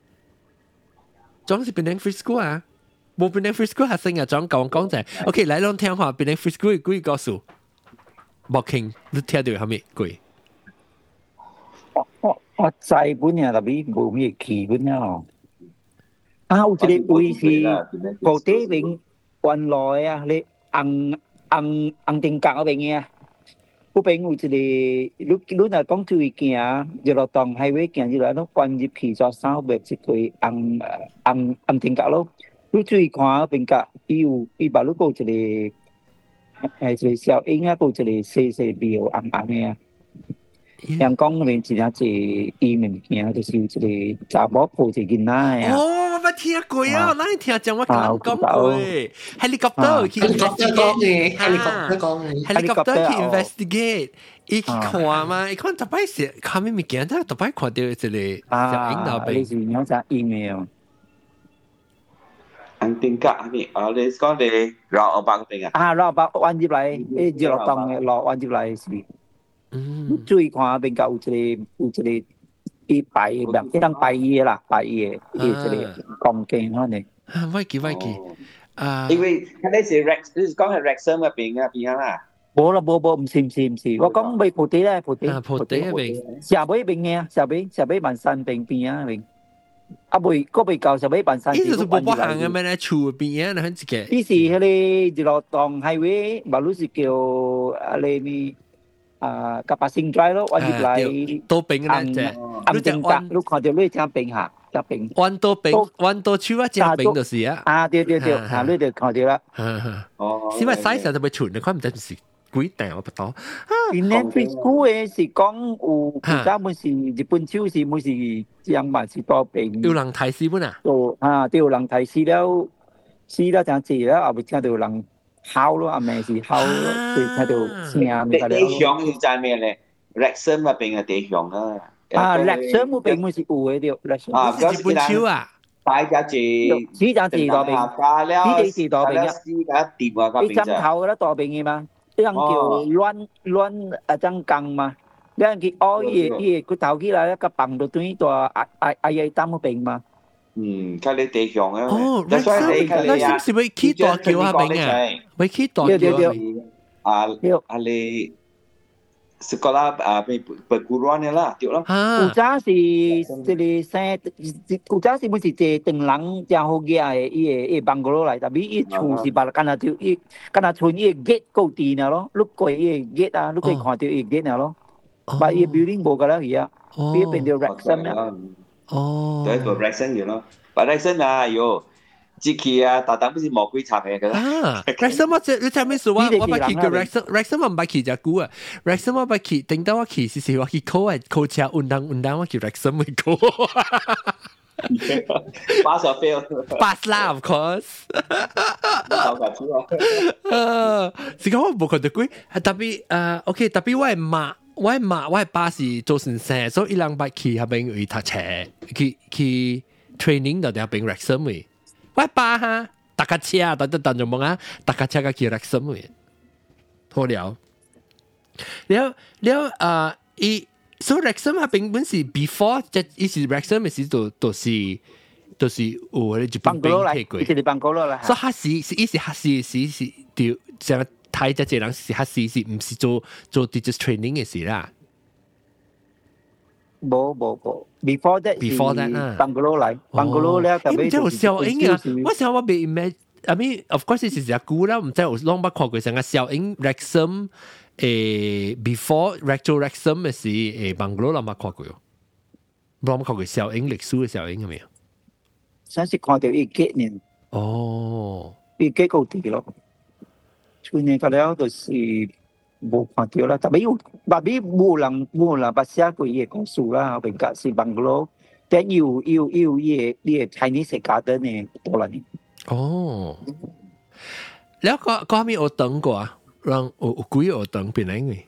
總是檳城 free school 啊？冇檳城 free school 學生啊，總講講就係 OK，嚟攏聽下檳城 free school 幾個數？莫慶，你聽到係咩鬼？ 我我我知本呀，特別冇咩奇本呀咯。啊，有一個位是高地邊原來啊，你紅紅紅定格嗰邊嘅，嗰邊有一個，你你若講注意行，就落當海尾行，就來攏關入去咗三百一個紅紅紅定格咯。你注意看嗰邊格，伊有伊把路過一個。誒，一個小鷹啊，有一個細細苗紅紅嘅啊。陽光嗰邊真係一伊物件，就是有一個查某抱一個囡仔嘅啊。 哦，我聽過啊，哪裡聽講我講講過？helicopter 去 investigate，helicopter 講嘅 ，helicopter 去 investigate，伊去看嘛，伊看特擺是看咩物件，但係特擺看到一個小鷹後邊。 你是養隻鷹嘅哦。 紅定格係咪？啊，你講你繞歐巴嗰邊啊？ 啊，繞歐巴彎入來，誒，就落當嘅落彎入來是。嗯。注意看邊個有一個有一個伊擺嘅，一張擺嘢啦，擺嘢，伊一個鋼鏡可能。 啊，我記我記。啊。 因為佢哋是 Rex，你是講係 Wrexham 嗰邊啊邊啊啦？ 冇啦冇冇，唔是唔是唔是，我講未蒲地咧，蒲地。 啊，蒲地嗰邊。 下尾邊嘅，下尾下尾萬山邊邊啊邊。啊，未，嗰未夠，就俾辦曬。 呢度就冇乜行嘅咩咧？厝邊啊，你睇自己。 呢是嗰啲一路當highway，馬路是叫啊你咪啊甲巴星 drive 咯，彎入嚟。到邊嘅咧，即係正格，你看到你正邊下，正邊。彎到邊，彎到厝啊，正邊就是啊。啊，對對對，啊，你就看到啦。 哦。因為細時就咪厝，你看唔得是。幾大我不懂啊！ 原來 preschool 嘅是講有而家冇是日本超市冇是樣板是多病。 有人睇書本啊？ 哦啊，有人睇書了，書了真濟了，後尾聽到有人敲咯，阿妹是敲咯，對聽到聲咪得了。 地上要在咩咧 ？Wrexham 嗰邊嘅地上啊！ 啊 ，Wrexham 嗰邊冇是有嘅啲 Wrexham。 啊，嗰日本超啊！大家住， 書真濟多病，書地是多病啊！ 書架掂啊，嗰邊啫。你針頭啦多病嘅嘛？啲人叫亂亂啊張鋼嘛，啲人叫哦伊伊個頭起來一個棒到對住啊啊啊嘢擔個病嘛。 嗯，睇你地上啊。 哦，那那是不是會起大橋啊邊啊？會起大橋啊？啊你是個啦啊，被被古亂嘅啦，對咯。 古早是即係生，古早是唔是即係等人正好嘅誒，伊誒伊邦哥羅來，特別伊厝是把干那條伊干那村伊 gate 高低呢咯，碌過伊 gate 啊，碌可以看到伊 gate 呢咯，把伊 building 冇噶啦而家，伊變到 Wrexham 啊。 哦。 對，個 Wrexham 嘅咯，把 Wrexham 啊，喲。自己啊，大膽不是魔鬼插嘅㗎啦。 啊 ，Wrexham 我即你睇咩數啊？我唔去個 Wrexham，Wrexham 我唔去隻股啊。Wrexham 我唔去，等到我去時時我去 call 啊 call 車運動運動我去 Wrexham 去 call。 Pass or fail？ Pass 啦 ，of course。 好搞笑啊！是講我冇看到鬼，特別誒 ，OK， 特別我係媽，我係媽，我係爸是做先生，所以一兩百去下邊去讀冊，去去 training 就喺邊 Wrexham 嘅。喂爸哈，搭架車，等等等住望啊，搭架車個叫 Wrexham 嘅，好了。了了啊，伊所以 Wrexham 啊，根本是 before 即係是 Wrexham 嘅時都都是都是有嗰啲日本兵退過， 即係邦哥羅啦。 所以哈時是伊是哈時是是條成睇只隻人是黑試是唔是做做 digital training 嘅事啦。 冇冇冇 ，before that before that 啊 ，Banglo 嚟 Banglo 咧，特別就小英啊，我想我未 imagine，I mean of course 是只古啦，唔知有啷捌看過成個小英 Wrexham 誒 before Recto Wrexham 嘅是誒 Banglo 啷捌看過喲，啷捌看過小英歷史嘅小英係咪啊？ 先是看到一幾年， 哦， 一幾個地咯，去年個了就是冇看到啦，特別有，特別冇人冇人把寫過嘢故事啦，邊個是 Banglo，但有有有嘢嘢 Chinese garden 嘅多啦呢。 哦，แล้วก็ก็มีโอตังกว่า讓有有幾個學堂邊來嘅？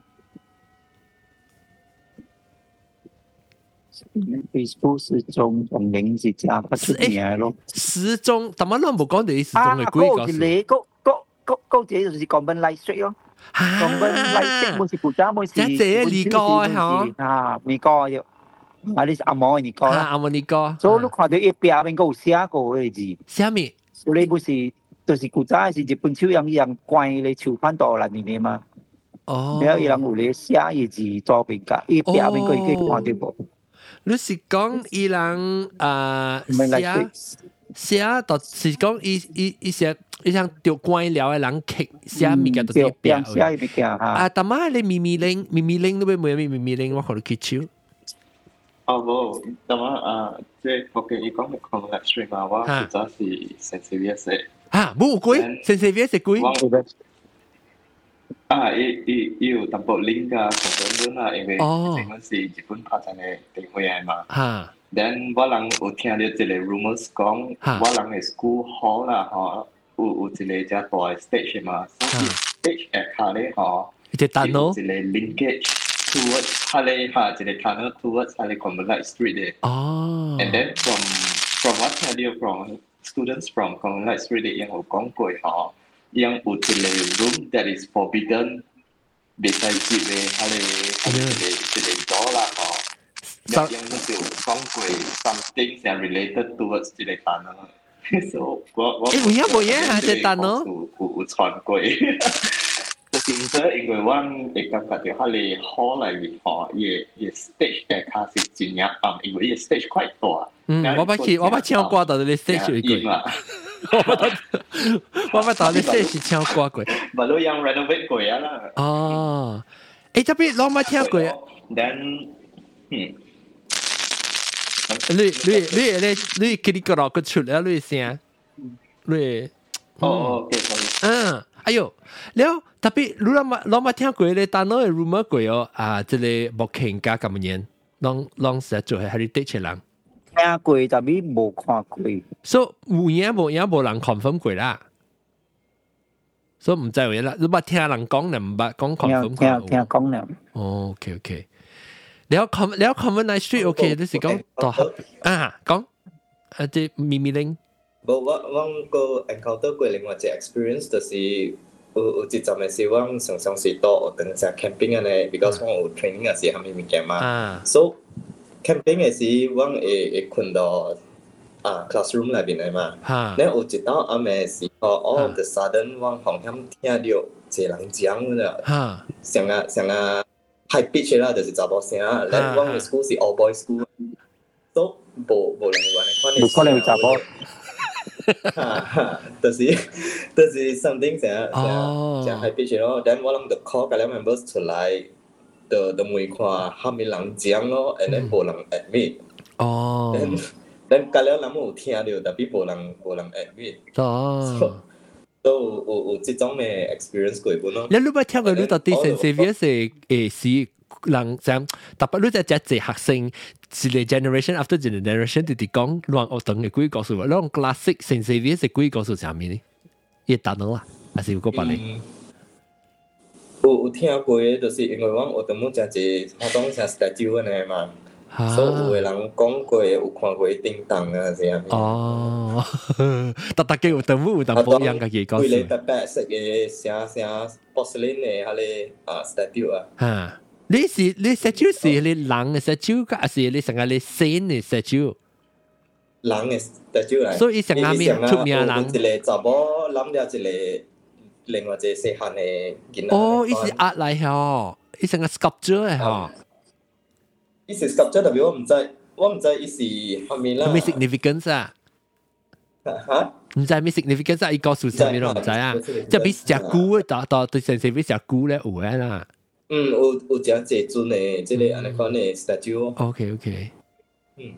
Facebook 時鐘同名字加不出名咯。 時鐘，但係我冇講你時鐘嘅幾個數。 你嗰嗰嗰嗰隻就是講本 light street 咯，講本 light street 冇是古仔冇是。 即係你講嘅嗬？ 啊，你講嘅，啊你是阿毛你講啦。 阿毛你講。 所以你看到一邊邊個有寫過嘅字。 寫咩？ 所以冇是。就是古早是日本手樣一樣關咧手翻到嚟呢嘛， 哦， 然後伊人有咧寫嘢字左邊架，伊邊邊個已經看到無。 你是講伊人啊寫寫，就是講伊伊伊寫伊像掉關了嘅人刻寫物件都係邊寫物件嚇。 啊，但係你咪咪令咪咪令都俾每咪咪咪令我可能揭睭。 哦冇，但係啊，即係我嘅伊講嘅 contact stream 啊，我負責是 sensitive 嘅。 啊，冇貴，成四 V 食貴。 啊，伊伊伊有淡薄 link 啊，同樣啦，因為整個是日本發展嘅地方嚟嘛。嚇。then 我人有聽到一個 rumors 講，我人嘅 school hall 啦，嗬，有有一個只大嘅 stage 嘛，所以 stage 下下咧，嗬， 一個 tunnel， 一個 linkage towards 下咧嚇，一個 tunnel towards 下咧 Commonwealth Street 嘅。哦。and then from from 我聽到 from students from Commonwealth Street yang 有講過嗬，yang 有一個 room that is forbidden，別使接嘅，係咧係咧一個door啦嗬。yang 就講過 something that related towards 一個單咯。so 我我誒，有冇嘢係隻單咯？ 有有有傳過。就是因為我會感覺到佢哋 hall 裡面嗬，嘢嘢 stage 嘅卡是真係暗，因為嘢 stage quite 大。 嗯，我把去，我把槍掛到你 stage 裏過。我把我把到你 stage 槍掛過。 咪都有 renovate 過啊啦。 哦，誒，特別我冇聽過。 then，嗯， 你你你你你佢哋個落個出嚟，你聲，你。 哦，OK，sorry。 嗯，哎呦，แล้ว特別你諗下諗下聽過咧，但係 rumor 過哦，啊，即係目前加咁樣。攏攏實做係 heritage 人， 聽過但係冇看過。 所以有影無影無人 confirm 過啦，所以唔知有嘢啦。你捌聽人講，你唔捌講 confirm 過。 聽聽講啦。 哦 ，OK OK。你有 com 你有 Common Street OK，你是講大學啊講啊即咪咪令。 無我我個 encounter 過另外一個 experience 就是有有一陣嘅時，我常常是到學堂食 camping 嘅咧 ，because 我有 training 嘅時，係咪物件嘛？所以 camping 嘅時，我會會困到啊 classroom 裏邊嚟嘛。咧有一道暗嘅時候 ，all of the sudden 我好像聽到一個人講啦，像啊像啊 high pitch 啦，就是查某聲。咧我嘅 school 是 all boys school，都無無人話你可能有查某。 就是就是 something 成日成日成 high pitch 咯，但我諗就 call 嗰啲 members 出嚟，就就問看係咪人講咯 ，and then 冇人 admit。哦。但嗰啲人冇聽到，但係冇人冇人 admit。哦。都有有這種嘅 experience 過本咯。 你如果聽過你到底 sensitive 係誒是人講，特別你在只隻學生。一個 generation after 一個 generation 直直講亂學堂嘅幾個數，嗰種 classic sensitive 係幾個數係咩呢？一單咯啊，還是有個別咧？ 有有聽過嘅，就是因為我學堂冇真係學堂成 statue 嘅嘛，所以有個人講過，有看過叮當啊，係啊。哦， 但大家有淡薄有淡薄樣嘅嘢講。 佢哋特別食嘅成成 porcelain 嘅嗰啲啊 statue 啊。 嚇！你是你 statue 是你人嘅 statue，還是你成個你神嘅 statue？ 人嘅 statue 嚟， 所以成個咩出名人？ 一個查某攬咗一個另外一個細漢的囡仔。 哦，伊是壓嚟吼，伊成個 sculpture 嘅吼。 伊是 sculpture，但係我唔知，我唔知伊是係咪啦。 咩 significance 啊？ 嚇？ 唔知咩 significance 啊？伊告訴啥物咯？唔知啊。即係比隻龜，到到對成成比隻龜咧有嘅啦。 嗯，有有真濟尊的，即個安尼款的 statue。 OK OK。 嗯。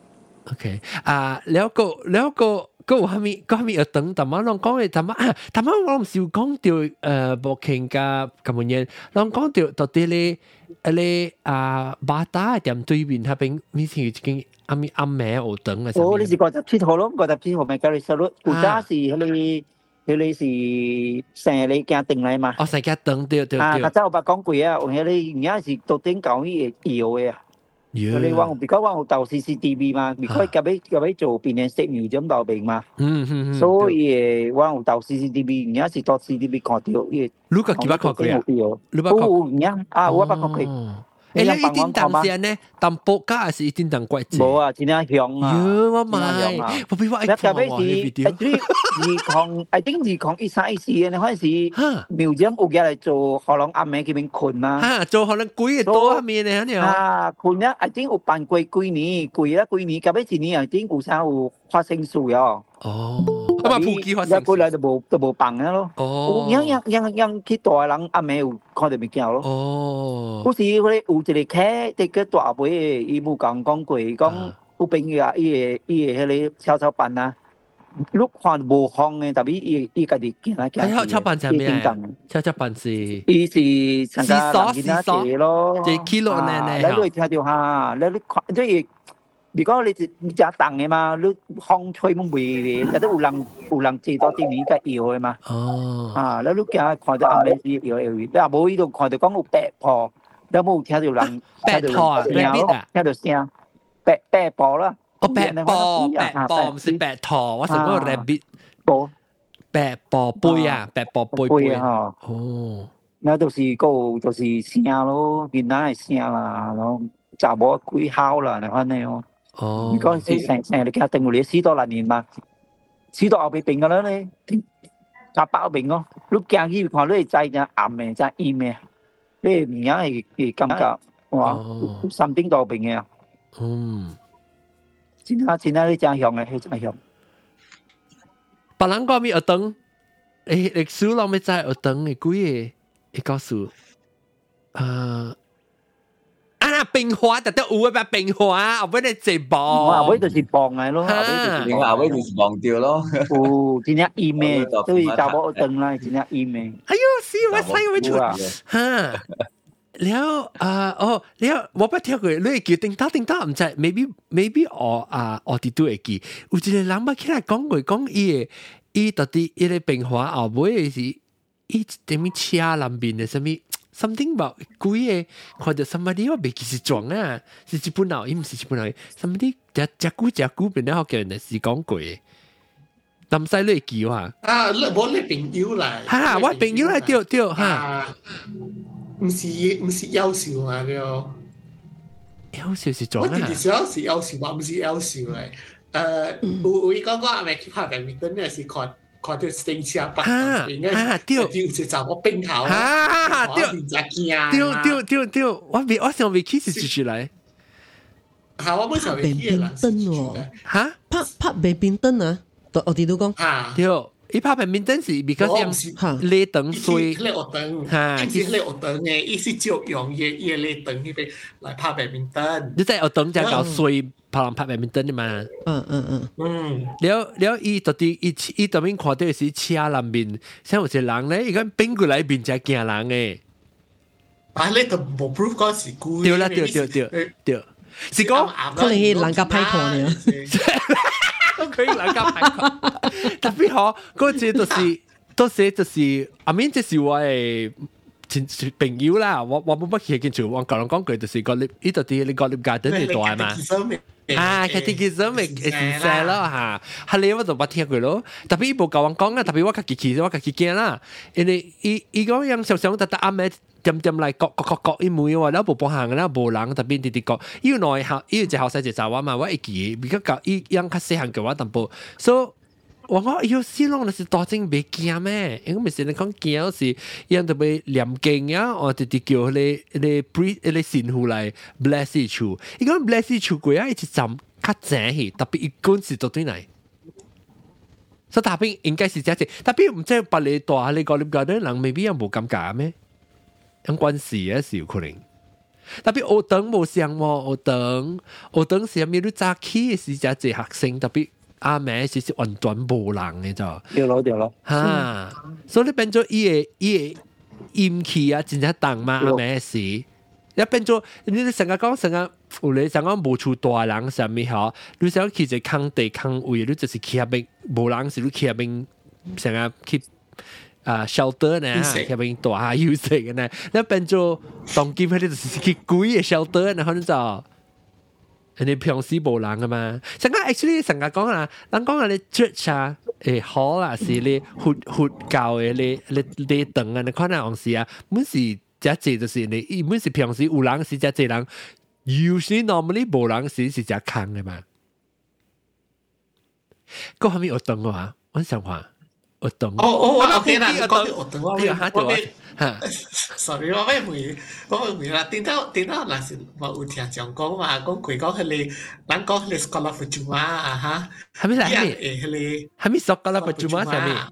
OK 啊，แล้วก็แล้วก็ก็有蝦米個蝦米要等，但係我講嘅但係啊，但係我唔是有講到誒博慶甲咁樣嘢，我講到到底咧，咧啊巴打店對面嗰邊，以前已經阿咪阿妹有等嘅。 哦，你是五十七號咯，五十七號咪教你收咯，古早是嗰啲。佢哋是成日行定嚟嘛？ 哦，成日等對對對。 啊，較早有捌講過啊，有迄個而家是到頂教伊會搖嘅啊。佢哋我比較我有投 C C T V 嘛，比較夾尾夾尾做變成攝影咁後邊嘛。 嗯嗯嗯。 所以我有投 C C T V，而家是到 C C T V 看到伊。 你個幾捌看過啊？ 你捌看？有而家啊，我捌看過。 誒，你一定當先呢？當報價還是一定當怪字？ 冇啊，真係香啊！ 喲，我買，我比我愛看喎。 你特別是二抗，I think二抗一三一四嘅，嗰陣時廟長有家嚟做可能暗暝嗰邊困嘛。 嚇，做可能貴嘅多下面嘅，嚇啊，困咧，I think 有辦過幾年，貴啦幾年，夾尾一年，I think 有啥有發生事哦。 哦。咁啊，普及發生。 一過來就冇就冇辦嘅咯。 哦。 樣樣樣樣去大人暗暝有看到物件咯。 哦。 嗰時嗰啲有一個客，啲個大輩嘅，伊冇講講過，講有朋友啊，伊個伊個迄個蹺蹺板啊，你看無風嘅，特別伊伊家己行來行去。 蹺蹺板係咩啊？蹺蹺板是。 伊是成個人家寫咯。 即係 kilo 呢？ 你都會聽到嚇，你你看即係。如果你你只凳嘅嘛，你風吹冇味嘅，有啲有人有人坐到啲面嘅搖嘅嘛。 哦。 啊，你你見看到暗暝時搖搖，你啊冇呢度看到講有白婆，你冇聽到人白婆啊？ 聽到聲，白白婆啦。 哦，白婆，白婆唔是白駝，我成個 rabbit。 婆。 白婆杯啊，白婆杯杯啊。 哦。 那就是個就是聲咯，見到係聲啦，然後就冇鬼敲啦，你看你哦。 哦， 嗰陣時成成日佢定你死多六年嘛，死到後邊病噶啦你，就包病咯。你驚佢看你係真暗嘅，真陰嘅，你唔樣係係感覺哇，心頂到病嘅。 嗯， 真係真係你真香嘅，係真香。 別人講咩學堂，誒歷史老咪知學堂嘅幾個，會告訴，啊。啊！冰花特得有啊，冰花後尾你直播， 後尾就是放嘅咯，後尾就是後尾就是放掉咯。 哦，真係陰嘅，所以就冇燈啦，真係陰嘅。 哎呦，死我死我出嚇！แล้วอ่าอ๋อแล้ว我不聽過，你會叫叮當叮當唔知 ，maybe maybe 我啊我哋都會記。有一個人捌起來講過，講伊個伊到底伊個冰花後尾是伊點樣車南邊嘅什麼？something about 鬼個看到 somebody 我未記是裝啊，是日本佬，伊唔是日本佬 ，somebody 只只古只古變咗學嘅人是講過嘅，但唔使你記啊。 啊，你冇你朋友嚟。 嚇，我朋友嚟對對嚇。 唔是唔是優秀啊了。 優秀是裝啊。 我哋時候是優秀嘛，唔是優秀嚟。誒，有有講講阿咪去拍badmin燈咧，是看。看到電車北邊嘅，就就就我冰頭， 啊， 對， 對對對對，我未我想未起是住住嚟， 嚇我本上未起嘅燈喎， 嚇拍拍白邊燈啊，我哋都講， 對，伊拍白邊燈是 because 嚇你燈水， 你學燈，嚇，其實你學燈嘅，伊是照用嘢嘢你燈嗰邊來拍白邊燈， 你即係學燈就搞水。拍人拍白面燈嘅嘛， 嗯嗯嗯嗯， 了了伊到底伊伊當面看到是車南邊，像有一個人咧，伊講邊過來邊才驚人嘅， 啊，你都冇 proof 嗰是故意， 對啦對對對對，是講可能係人家拍看嘅， 可以人家拍看，特別好嗰隻就是嗰隻就是阿面即是我誒。朋友啦，我我冇乜嘢見住，我講講句就是個呢呢度啲你個 garden 嚟大嘛，啊，佢哋其實咪係曬咯嚇，係你我就冇聽過咯，特別伊冇教我講啊，特別我家己去我家己驚啦，因為伊伊講樣想想特特啱咩點點嚟各各各各伊每話แล้ว冇幫行啦，冇人特別啲啲講，伊內校伊只後生就查我嘛，我會記，比較教伊樣較細漢嘅話淡薄，所以我講要死咯，那是大正別驚咩？因為咪是你講驚是樣特別念經啊，我直直叫你你 breathe 你神父來 bless 伊厝，伊講 bless 伊厝過啊，伊一站較正去，特別伊講是到對來。所以大邊應該是這樣，特別唔知別你大你講你講啲人未必有冇感覺咩？有關係啊，是有可能。特別學堂冇上喎，學堂學堂是咪都早起是只隻學生，特別阿妹是是完全冇人嘅咋。 對咯對咯。 嚇，所以你變咗伊個伊個陰氣啊，真正重嘛阿妹是，一變咗你成日講成日有你成日冇厝大人啥物嗬，你想去一個空地空位，你就是去下邊冇人時，你去下邊成日去。啊 shelter 呢，喺邊大下休息嘅呢，你變咗當今佢哋就是去貴嘅 shelter，然後你就你平時冇人嘅嘛。成個 actually 成日講啊，人講啊你 church 啊，誒好啦，是你活活教嘅你你你等啊，你看下往時啊，每時只隻就是你，每時平時有人是只隻人 ，usually normally 冇人時是只空嘅嘛。嗰後面有等嘅話，我想話。我懂。 哦哦，我聽啦，你講啲我懂，我咩嚇到啊 ？sorry， 我咩回，我回啦。點解點解嗱時我有聽講講嘛？講佢講佢哋，咱講佢哋 sekolah percuma 啊嚇。 係咪係咪？誒，佢哋係咪 sekolah percuma 係咪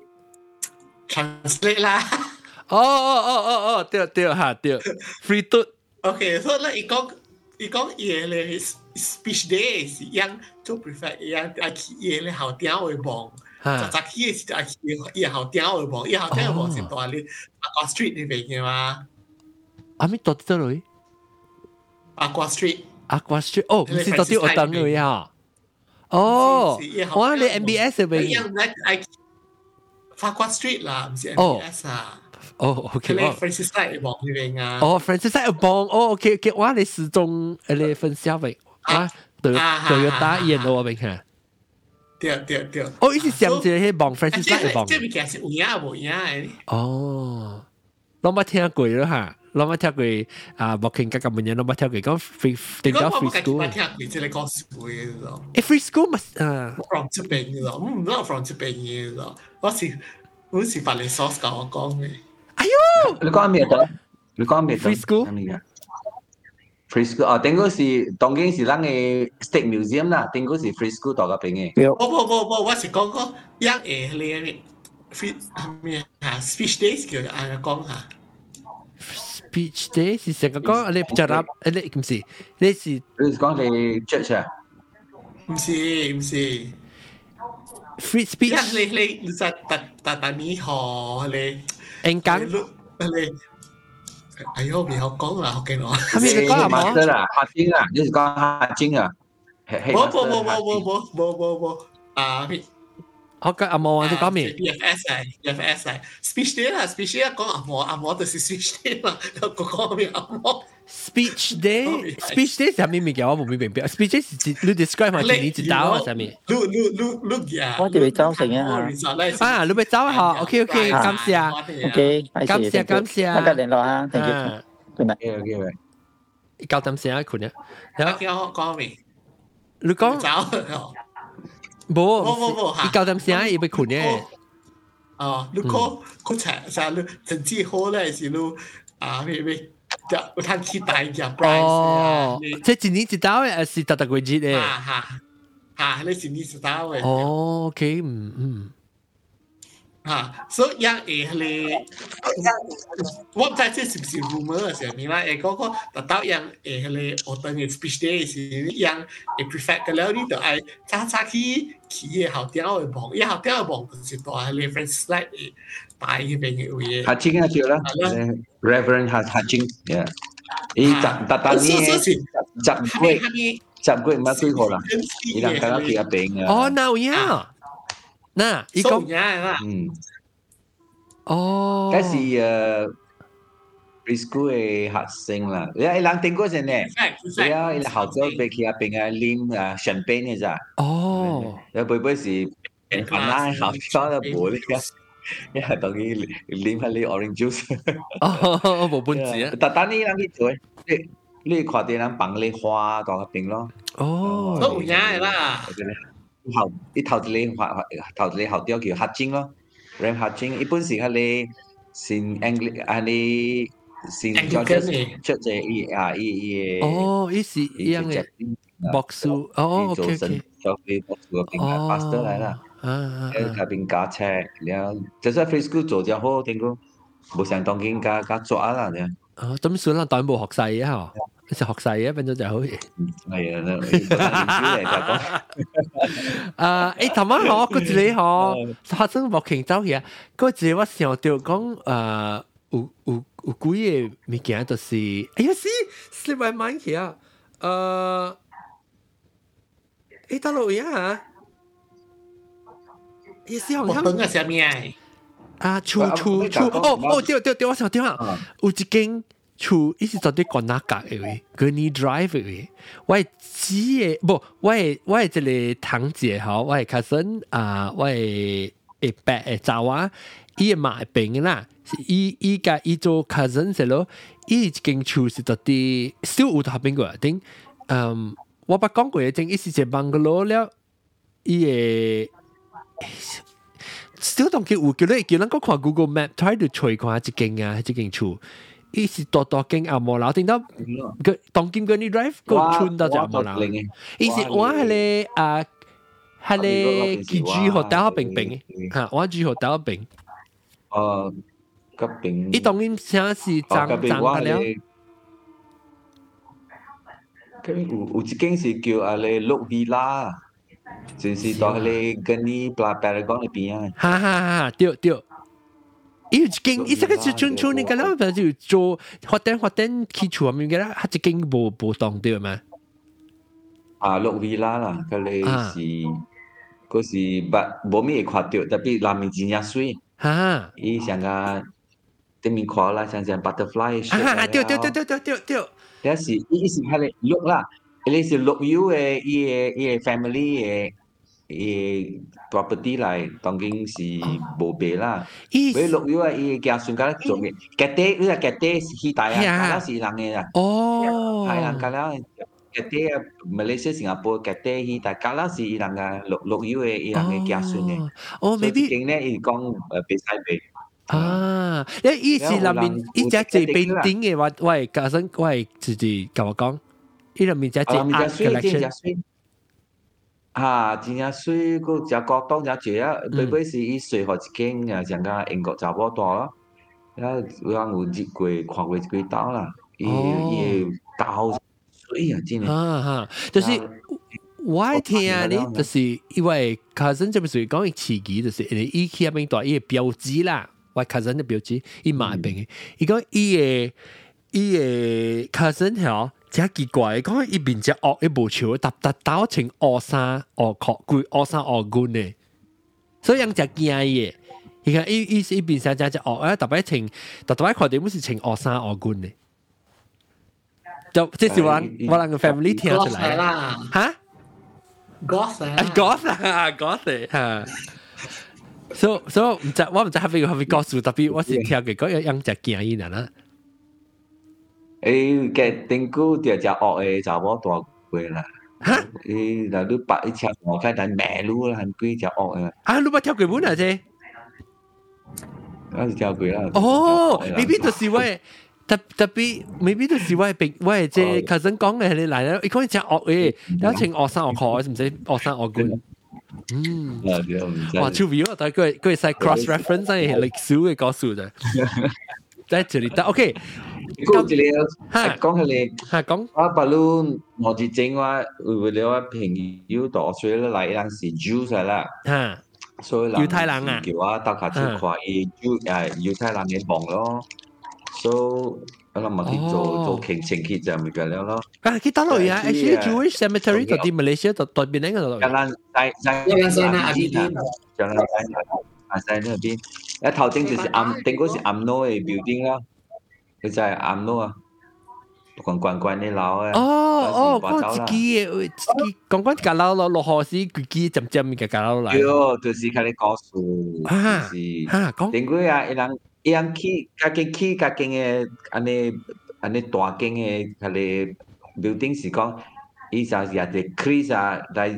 ？translate 啦。 哦哦哦哦哦，對對嚇對 ，free 嘟。 OK，所以咧，伊講伊講嘢咧 speech day 是樣做 prefect 樣阿佢嘢咧後點會望。就早起嘅時候，伊後點會望，伊後點會望是大你八卦 street 呢邊嘅嘛？ 阿咪到底嚟？ 八卦 street， 八卦 street， 哦，唔是到底我等佢啊？哦，我你 M B S 嗰邊， 八卦 street 啦，唔是 M B S 啊。 哦 ，OK， 你 Francis 喺望呢邊啊？ 哦 ，Francis 喺望，哦 ，OK，OK， 我你始終你分享俾啊，對對要打演我邊看。 對對對。 哦，伊是上一個迄望 Francis 喺望。 這物件是有影無影誒。 哦，我冇聽過咯嚇，我冇聽過啊，莫傾格咁樣，我冇聽過講 free 定咗 free school。 我冇聽過即係講是會嘅咯。 誒 free school 咪啊 ？from 這邊嘅咯，唔係 from 這邊嘅咯。我是我是法律 source 教我講嘅。 哎呦， 你講咩嘅？你講咩 free school？Free school 啊，頂嗰時當經是咱嘅 State Museum 啦，頂嗰時 Free school 大個邊嘅。 冇冇冇冇，我是講講樣誒你 free 咩嚇 speech days 叫人講下。 speech day 是成個講你就答你唔是你是你講你 church 啊？ 唔是唔是 free speech。 你你你在特特特尼河你演講你。哎呦，唔好講啦，好驚我。 係咪你講阿媽啦？客精啊，你是講客精啊？ 冇冇冇冇冇冇冇冇冇啊！ 我講阿媽，你講咩 ？B F S 啊 ，B F S 啊 ，speech day 啦 ，speech day 講阿媽，阿媽就是 speech day 啦，講講咩阿媽 ？speech day，speech day 係咩物件？我冇明白。speech day 是你 describe 係你知道啊？係咩？ 你你你你呀！ 我哋走成啊！ 啊，你咪走下 ，OK OK，感謝 ，OK， 感謝感謝， 大家聯絡下 ，thank you，good night，OK OK， 交點聲啊，坤啊， 叫我講咩？ 你講走， 冇冇冇冇， 你交點聲要俾坤嘅。 哦，你講講齊晒，你成績好咧是你啊咩咩？有攤期待嘅 price 哦，即係一年一道嘅，是特特季節嘅。 嚇嚇嚇，你一年一道嘅。 哦 ，OK， 嗯嗯。 嚇，所以樣誒你，我唔知這是唔是 rumor 上面啦。誒嗰個特登樣誒你學堂嘅 speech day 是樣誒 prefect 嘅了，你就愛早早去去嘅後點去望，伊後點去望就是大你 Francis 嚟誒大嗰邊嘅位。 客精啊，叫啦 ，Reverend 客客精，yeah，伊特特登呢十十幾十幾唔係幾號啦，伊人家去嗰邊啊。 哦，嗱呀。嗱，依個嗯， 哦， 嗰時誒 preschool 嘅學生啦，你你人聽過先呢？係啊，你後晝俾佢阿邊啊啉啊 champagne 嘅咋？ 哦， 有背背時可能後晝都冇呢個，因為當佢啉下啲 orange juice。 哦，冇半字啊！ 但但呢人去做，你你看啲人綁啲花到嗰邊咯。 哦， 都唔啱啦。 校，啲頭一個學頭一個校長叫黑金咯 ，Ram 黑金，一般是佢哋先 English，佢哋先 George 出隻伊啊伊伊哦，伊是一樣嘅博士，哦，OK OK， 做佢博士嗰邊嘅 master 嚟啦， 啊， 喺嗰邊教車，然後就算 free school 做就好，點講冇想當經加加做啦咧。 哦，咁算啦，當冇學細啊，嗬。就學細嘅，變咗就好嘢。 係啊，嚟就講。 啊，誒，頭晚我嗰一個嗬，發生目前走去啊，嗰一個我想到講，誒，有有有幾個物件就是，哎呀死，slip my mind 去啊，誒，誒，到落去啊，也是好像。 我本個啥物啊？ 啊，厝厝厝，哦哦，對對對，我想對啊，有一間。厝伊是絕對關哪格嘅位 ，Gurney Drive 嘅位。我係姊嘅，不，我係我係一個堂姐吼，我係 cousin 啊，我係一伯嘅查某，伊係馬邊嘅啦，伊伊甲伊做 cousin 時咯，伊一間厝是絕對小有頭邊個頂，嗯，我捌講過嘅，正伊是一個 bungalow 了，伊嘅小當叫有叫咧，叫咱個看 Google Map try to 找看一間啊，一間厝。伊是大大間阿摩樓，聽到個當金嗰啲 drive 個村到就阿摩樓。伊是我係咧啊，係咧佢住學校邊邊嘅，嚇我住學校邊。 哦，嗰邊。伊當然先是爭爭得了。 咁有有一間是叫阿咧綠 villa，就是到咧跟你布拉巴拉講嗰邊啊。 哈哈哈，對對。伊一間，伊這個是村村那個啦，就做發展發展起厝咁樣嘅啦，一間無無當對嘛？ 啊，綠 villa 啦，佢哋是嗰時不無咩看到，特別南面真正水。 哈， 伊像個對面看啦，像像 butterfly。 啊，對對對對對對對。 但是伊是佢哋綠啦，伊是綠油嘅，伊嘅伊嘅 family 嘅。伊 property 嚟當然是無賠啦。佢綠油啊，伊家算家做嘅，家底你話家底是希大啊，家底是人嘅啦。 哦， 係人家啦，家底啊，馬來西亞、新加坡家底希大，家啦是人嘅綠綠油嘅，伊人嘅家算嘅。 哦，maybe 經咧，伊講誒比賽賠。 啊，因為伊是入面伊只最邊頂嘅話，我係家生，我係自己甲我講，伊入面只最 art collection。 啊，真正水，佮只國當只住啊，尾尾是伊隨學一間啊，像個英國查某大咯，啊，有人有入過看過幾刀啦，伊伊刀水啊，真係。 啊哈，就是我聽咧，就是因為 cousin 就咪屬於講伊刺激，就是因為伊去入面大伊嘅標誌啦，我 cousin 嘅標誌，伊買邊嘅，伊講伊嘅伊嘅 cousin 係。真奇怪，講伊面只惡伊無笑，搭搭搭穿烏衫烏褲，規烏衫烏裙嘅，所以人只驚嘅。伊講伊伊伊面上只只惡啊，特別穿，特別看到冇是穿烏衫烏裙嘅。就即是我我兩個 family 聽出來啦。嚇 ？Goth 啊 ，Goth 啊，Goth 嚇。所所以唔知我唔知係咪係咪告訴，特別我是聽嘅講有人只驚伊啦。 誒，嘅頂估就只惡嘅查某大過啦。嚇！誒，嗱你白一條我睇睇馬路啦，係幾隻惡嘅。 啊，你冇跳過本啊？啫？ 我是跳過啦。 哦，未必就是我，特特別未必就是我並我係即係 cousin 講嘅係你嚟啦。你講只惡嘅，有請惡生惡褲，唔使惡生惡棍。嗯，哇，超 view 啊！但係佢佢係 cross reference 係歷史嘅故事啫。在這裡得 OK。 講一個，講起嚟， 嚇講， 我把路我之前我為了我朋友到所以嚟人是 Jews 啦， 嚇， 所以猶太人啊， 叫我到下次看伊 Jew 誒猶太人嘅夢咯，所以我諗咪去做做傾情結就咪咁樣咯。 啊，佢打落去啊 ，actually Jewish cemetery 到啲 Malaysia 到到邊呢個度？ 加蘭在在加蘭山啊邊， 加蘭山啊在那邊，一頭頂就是暗，頂嗰是暗諾嘅 building 啦。佢就係暗咯啊，關關關啲樓啊。 哦哦，嗰自己嘅，自己關關架樓落落河時，自己浸浸嘅架樓嚟。 喲，就是佢哋告訴，就是嚇講。 點解啊？一人一人起，家己起家己嘅，安尼安尼大間嘅佢哋 building 是講，伊就係啲 crease 啊，嚟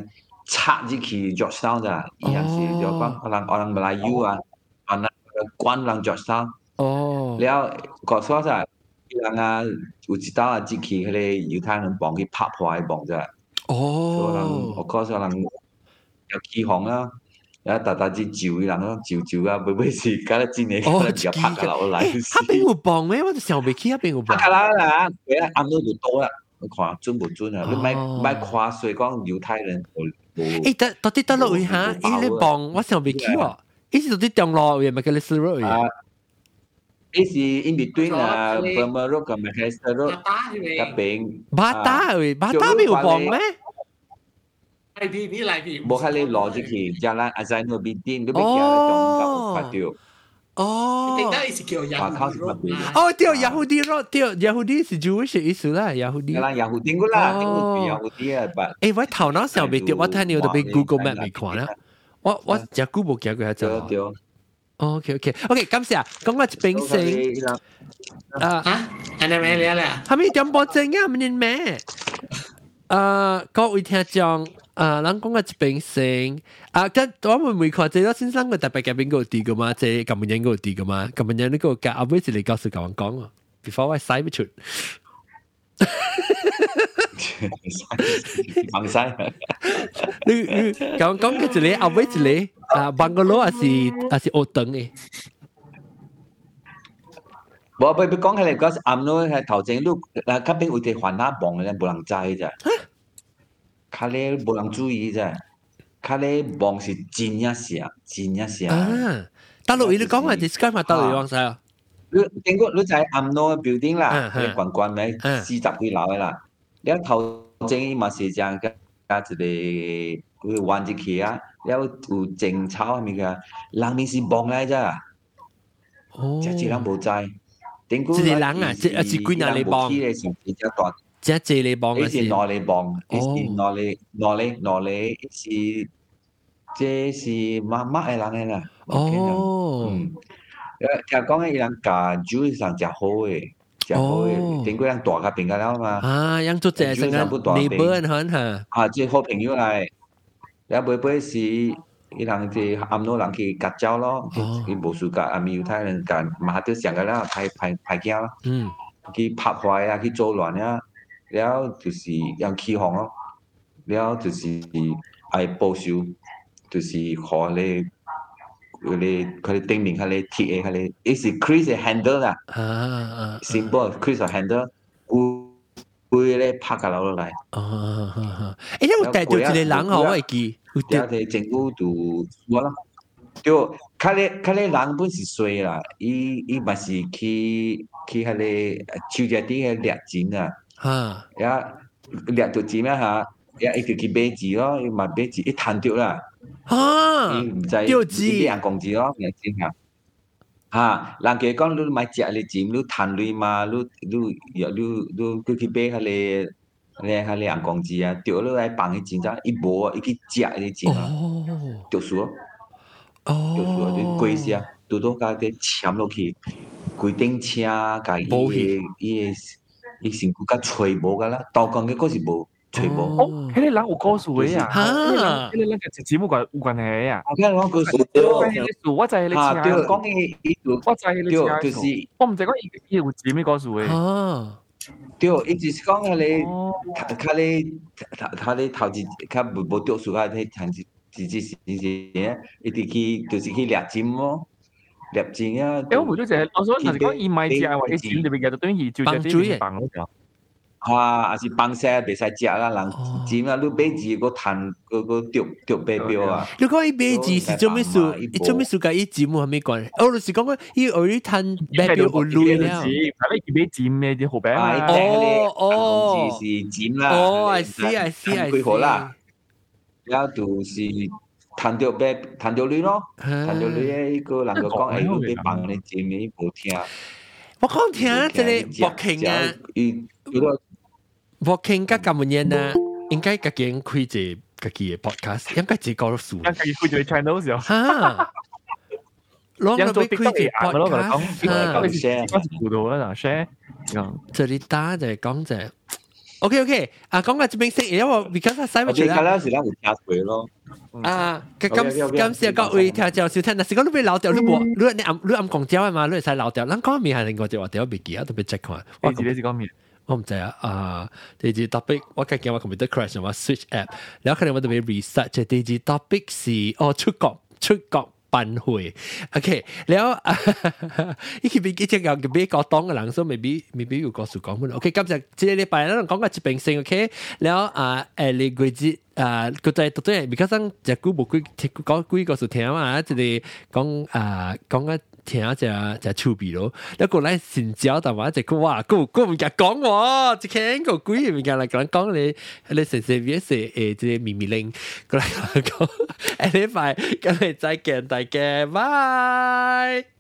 插入去 Georgetown 咋，伊也是就講可能可能 Melayu 啊，可能關人 Georgetown。哦。了，告訴我咋，伊人啊有一道啊入去迄個猶太人幫去拍破迄幫咋。哦。所以人，我告訴人有起哄啊。然後大大隻酒伊人咯，酒酒啊，尾尾是搞得真誒，可能就拍個落來。 迄邊有幫咩？我就想袂起迄邊有幫。 拍啦啦，佢啊暗到就多啦，你看準唔準啊？你咪咪誇水講猶太人無。誒，到到底到落位哈？伊咧幫我想袂起喎，伊是到底中路位咪叫你輸落位？伊是 in between 啊 ，Burma Road 同 Manchester Road 嗰邊。巴打位，巴打邊有幫咩？ 來啲啲來啲， 冇喺你攞住佢，jalan Azzainul Bidin，你俾佢喺中間發掉。 哦，定得意思叫 Yahudi Road。 哦，對 Yahudi Road，對 Yahudi 是 Jewish 意思啦 ，Yahudi。 啦 ，Yahudi 個啦，點會 Yahudi 啊？ 誒，我頭腦上邊掉，我睇你度俾 Google Map 嚟看啦。我我只 Google 見過一隻。對。OK OK OK，感謝。講我一邊先。 啊嚇？係咪咩嚟啊？ 係咪點播正啊？唔認咩？誒，各位聽眾。啊，咱講個一邊先啊，咁我會唔會看這個先生個特別嘉賓個啲噶嘛？即係咁樣個啲噶嘛？咁樣呢個教阿妹是嚟告訴講講啊 ，before 我使唔出， 放曬。 你你講講嘅一個阿妹一個啊，bungalow 還是還是屋頂嘅？ 我唔唔講起嚟嗰暗咯，係頭前都啊，嗰邊有啲環那幫嘅，冇人知咋。卡咧無人注意啫，卡咧望是真一聲，真一聲。啊！ 大陸你講下 describe 下大陸講啥啊？ 你經過你就係暗路 building 啦，你慣慣咪四十幾樓嘅啦。你頭前嘛是這樣嘅，加一個佢彎入去啊，了有種草係咪嘅？人面是望嚟啫。哦。只只人冇知。點講？ 一個人啊，即係幾人嚟望？即係借你幫嘅是攞嚟幫，是攞嚟攞嚟攞嚟是，這是媽媽嘅人嚟啦。哦，嗯，聽講嘅人家煮上真好嘅，真好嘅，點解人大家變個了嘛？ 啊，人做這成個 neighbor 很嚇。 啊，即係好朋友嚟，然後每每是伊人即暗路人去夾交咯，佢無事夾，阿咪猶太人夾，嘛都上個啦，派派派囝咯，嗯，去拍壞啊，去做亂啊。了就是用起哄咯，了就是愛報仇，就是和你嗰啲佢哋頂面佢哋鐵嘅佢哋，伊是 Chris 嘅 handle 啦，啊 symbol Chris 嘅 handle，會會咧拍個落嚟。 哦，誒，你有帶到一個人哦，我會記。 有啲政府就我啦，就佢哋佢哋人本是衰啦，伊伊咪是去去佢哋手腳底嘅掠錢啊。啊！也掠到錢咩嚇？也一直去買錢咯，伊嘛買錢一攤掉啦。啊！伊唔知釣錢，俾人講錢咯，人錢嚇。嚇！人家講你買食你錢，你攤鐳嘛，你你又你你佢去買下你你下你人講錢啊，掉落來放迄錢咋？伊無啊，伊去食迄錢啊，掉數咯。哦。掉數啊！你貴些，拄到家啲簽落去，規頂車甲伊個伊個。伊成個甲吹無噶啦，刀工嘅嗰時無吹無。 哦，迄個人有故事嘅啊！嚇，迄個人嘅節節目關有關係啊！ 我聽講故事， 我知你啊，對，講嘅伊就， 我知你對，就是， 我唔知講伊伊有節咩故事嘅。 哦，對，伊就是講佢哋，佢哋，佢哋頭前佢無無讀書啊，佢頭前自己是是嘅，伊哋去就是去掠錢咯。入錢啊！ 誒，我回咗就係，我想頭先講伊買隻或者錢裏邊嘅，就等於照隻啲棒嗰時候。 啊，還是棒聲袂使食啦，人錢啊，你買字個彈個個掉掉白標啊！ 你講伊買字是做咩事？伊做咩事？甲伊錢冇咩關係？我就是講講伊後日彈白標有鐳了。 但係伊買錢咩啲好平啊？ 哦哦，字是錢啦。 哦，I see I see I see。 啦，然後就是。彈到白，彈到綠咯，彈到綠嘅嗰個人就講：誒，佢俾棒你錢，你冇聽。 我講聽即個博傾啊，博傾甲咁樣啊，應該家己開隻家己嘅 podcast，應該自己講數。 應該開隻 channel 時候。 嚇！攞個俾開隻 podcast， 嚇！share，share， 這裡打就係講就。 OK OK， 啊，講個這邊先，因為我 because 我使唔出啦。 我哋嗰時咧會聽水咯。 啊，咁咁時各位聽眾收聽，但是講你俾老掉，你冇你你暗你暗講焦嘅嘛，你使老掉，咱講面係另外一話掉別記啊，特別 check 看。 我自己是講面。 我唔知啊，啊，第二 topic 我今日我 computer crash 我 switch app， 然後可能我特別 research 第二 topic 是哦出國出國辦會 ，OK， 然後啊，呢邊幾隻有俾個當嘅人，所以未必未必要告訴講乜 ，OK， 今日這禮拜咧講個疾病性 ，OK， 然後啊誒你季節啊個在到底係而家生隻股冇幾講幾個數聽啊，即係講啊講個。聽只只趣味咯，一個咧善招，但話一隻佢哇，佢佢唔夾講喎，只聽個鬼唔夾嚟講講你你成成邊時誒即係咪咪令過嚟講，誒呢塊今日再見大家，拜。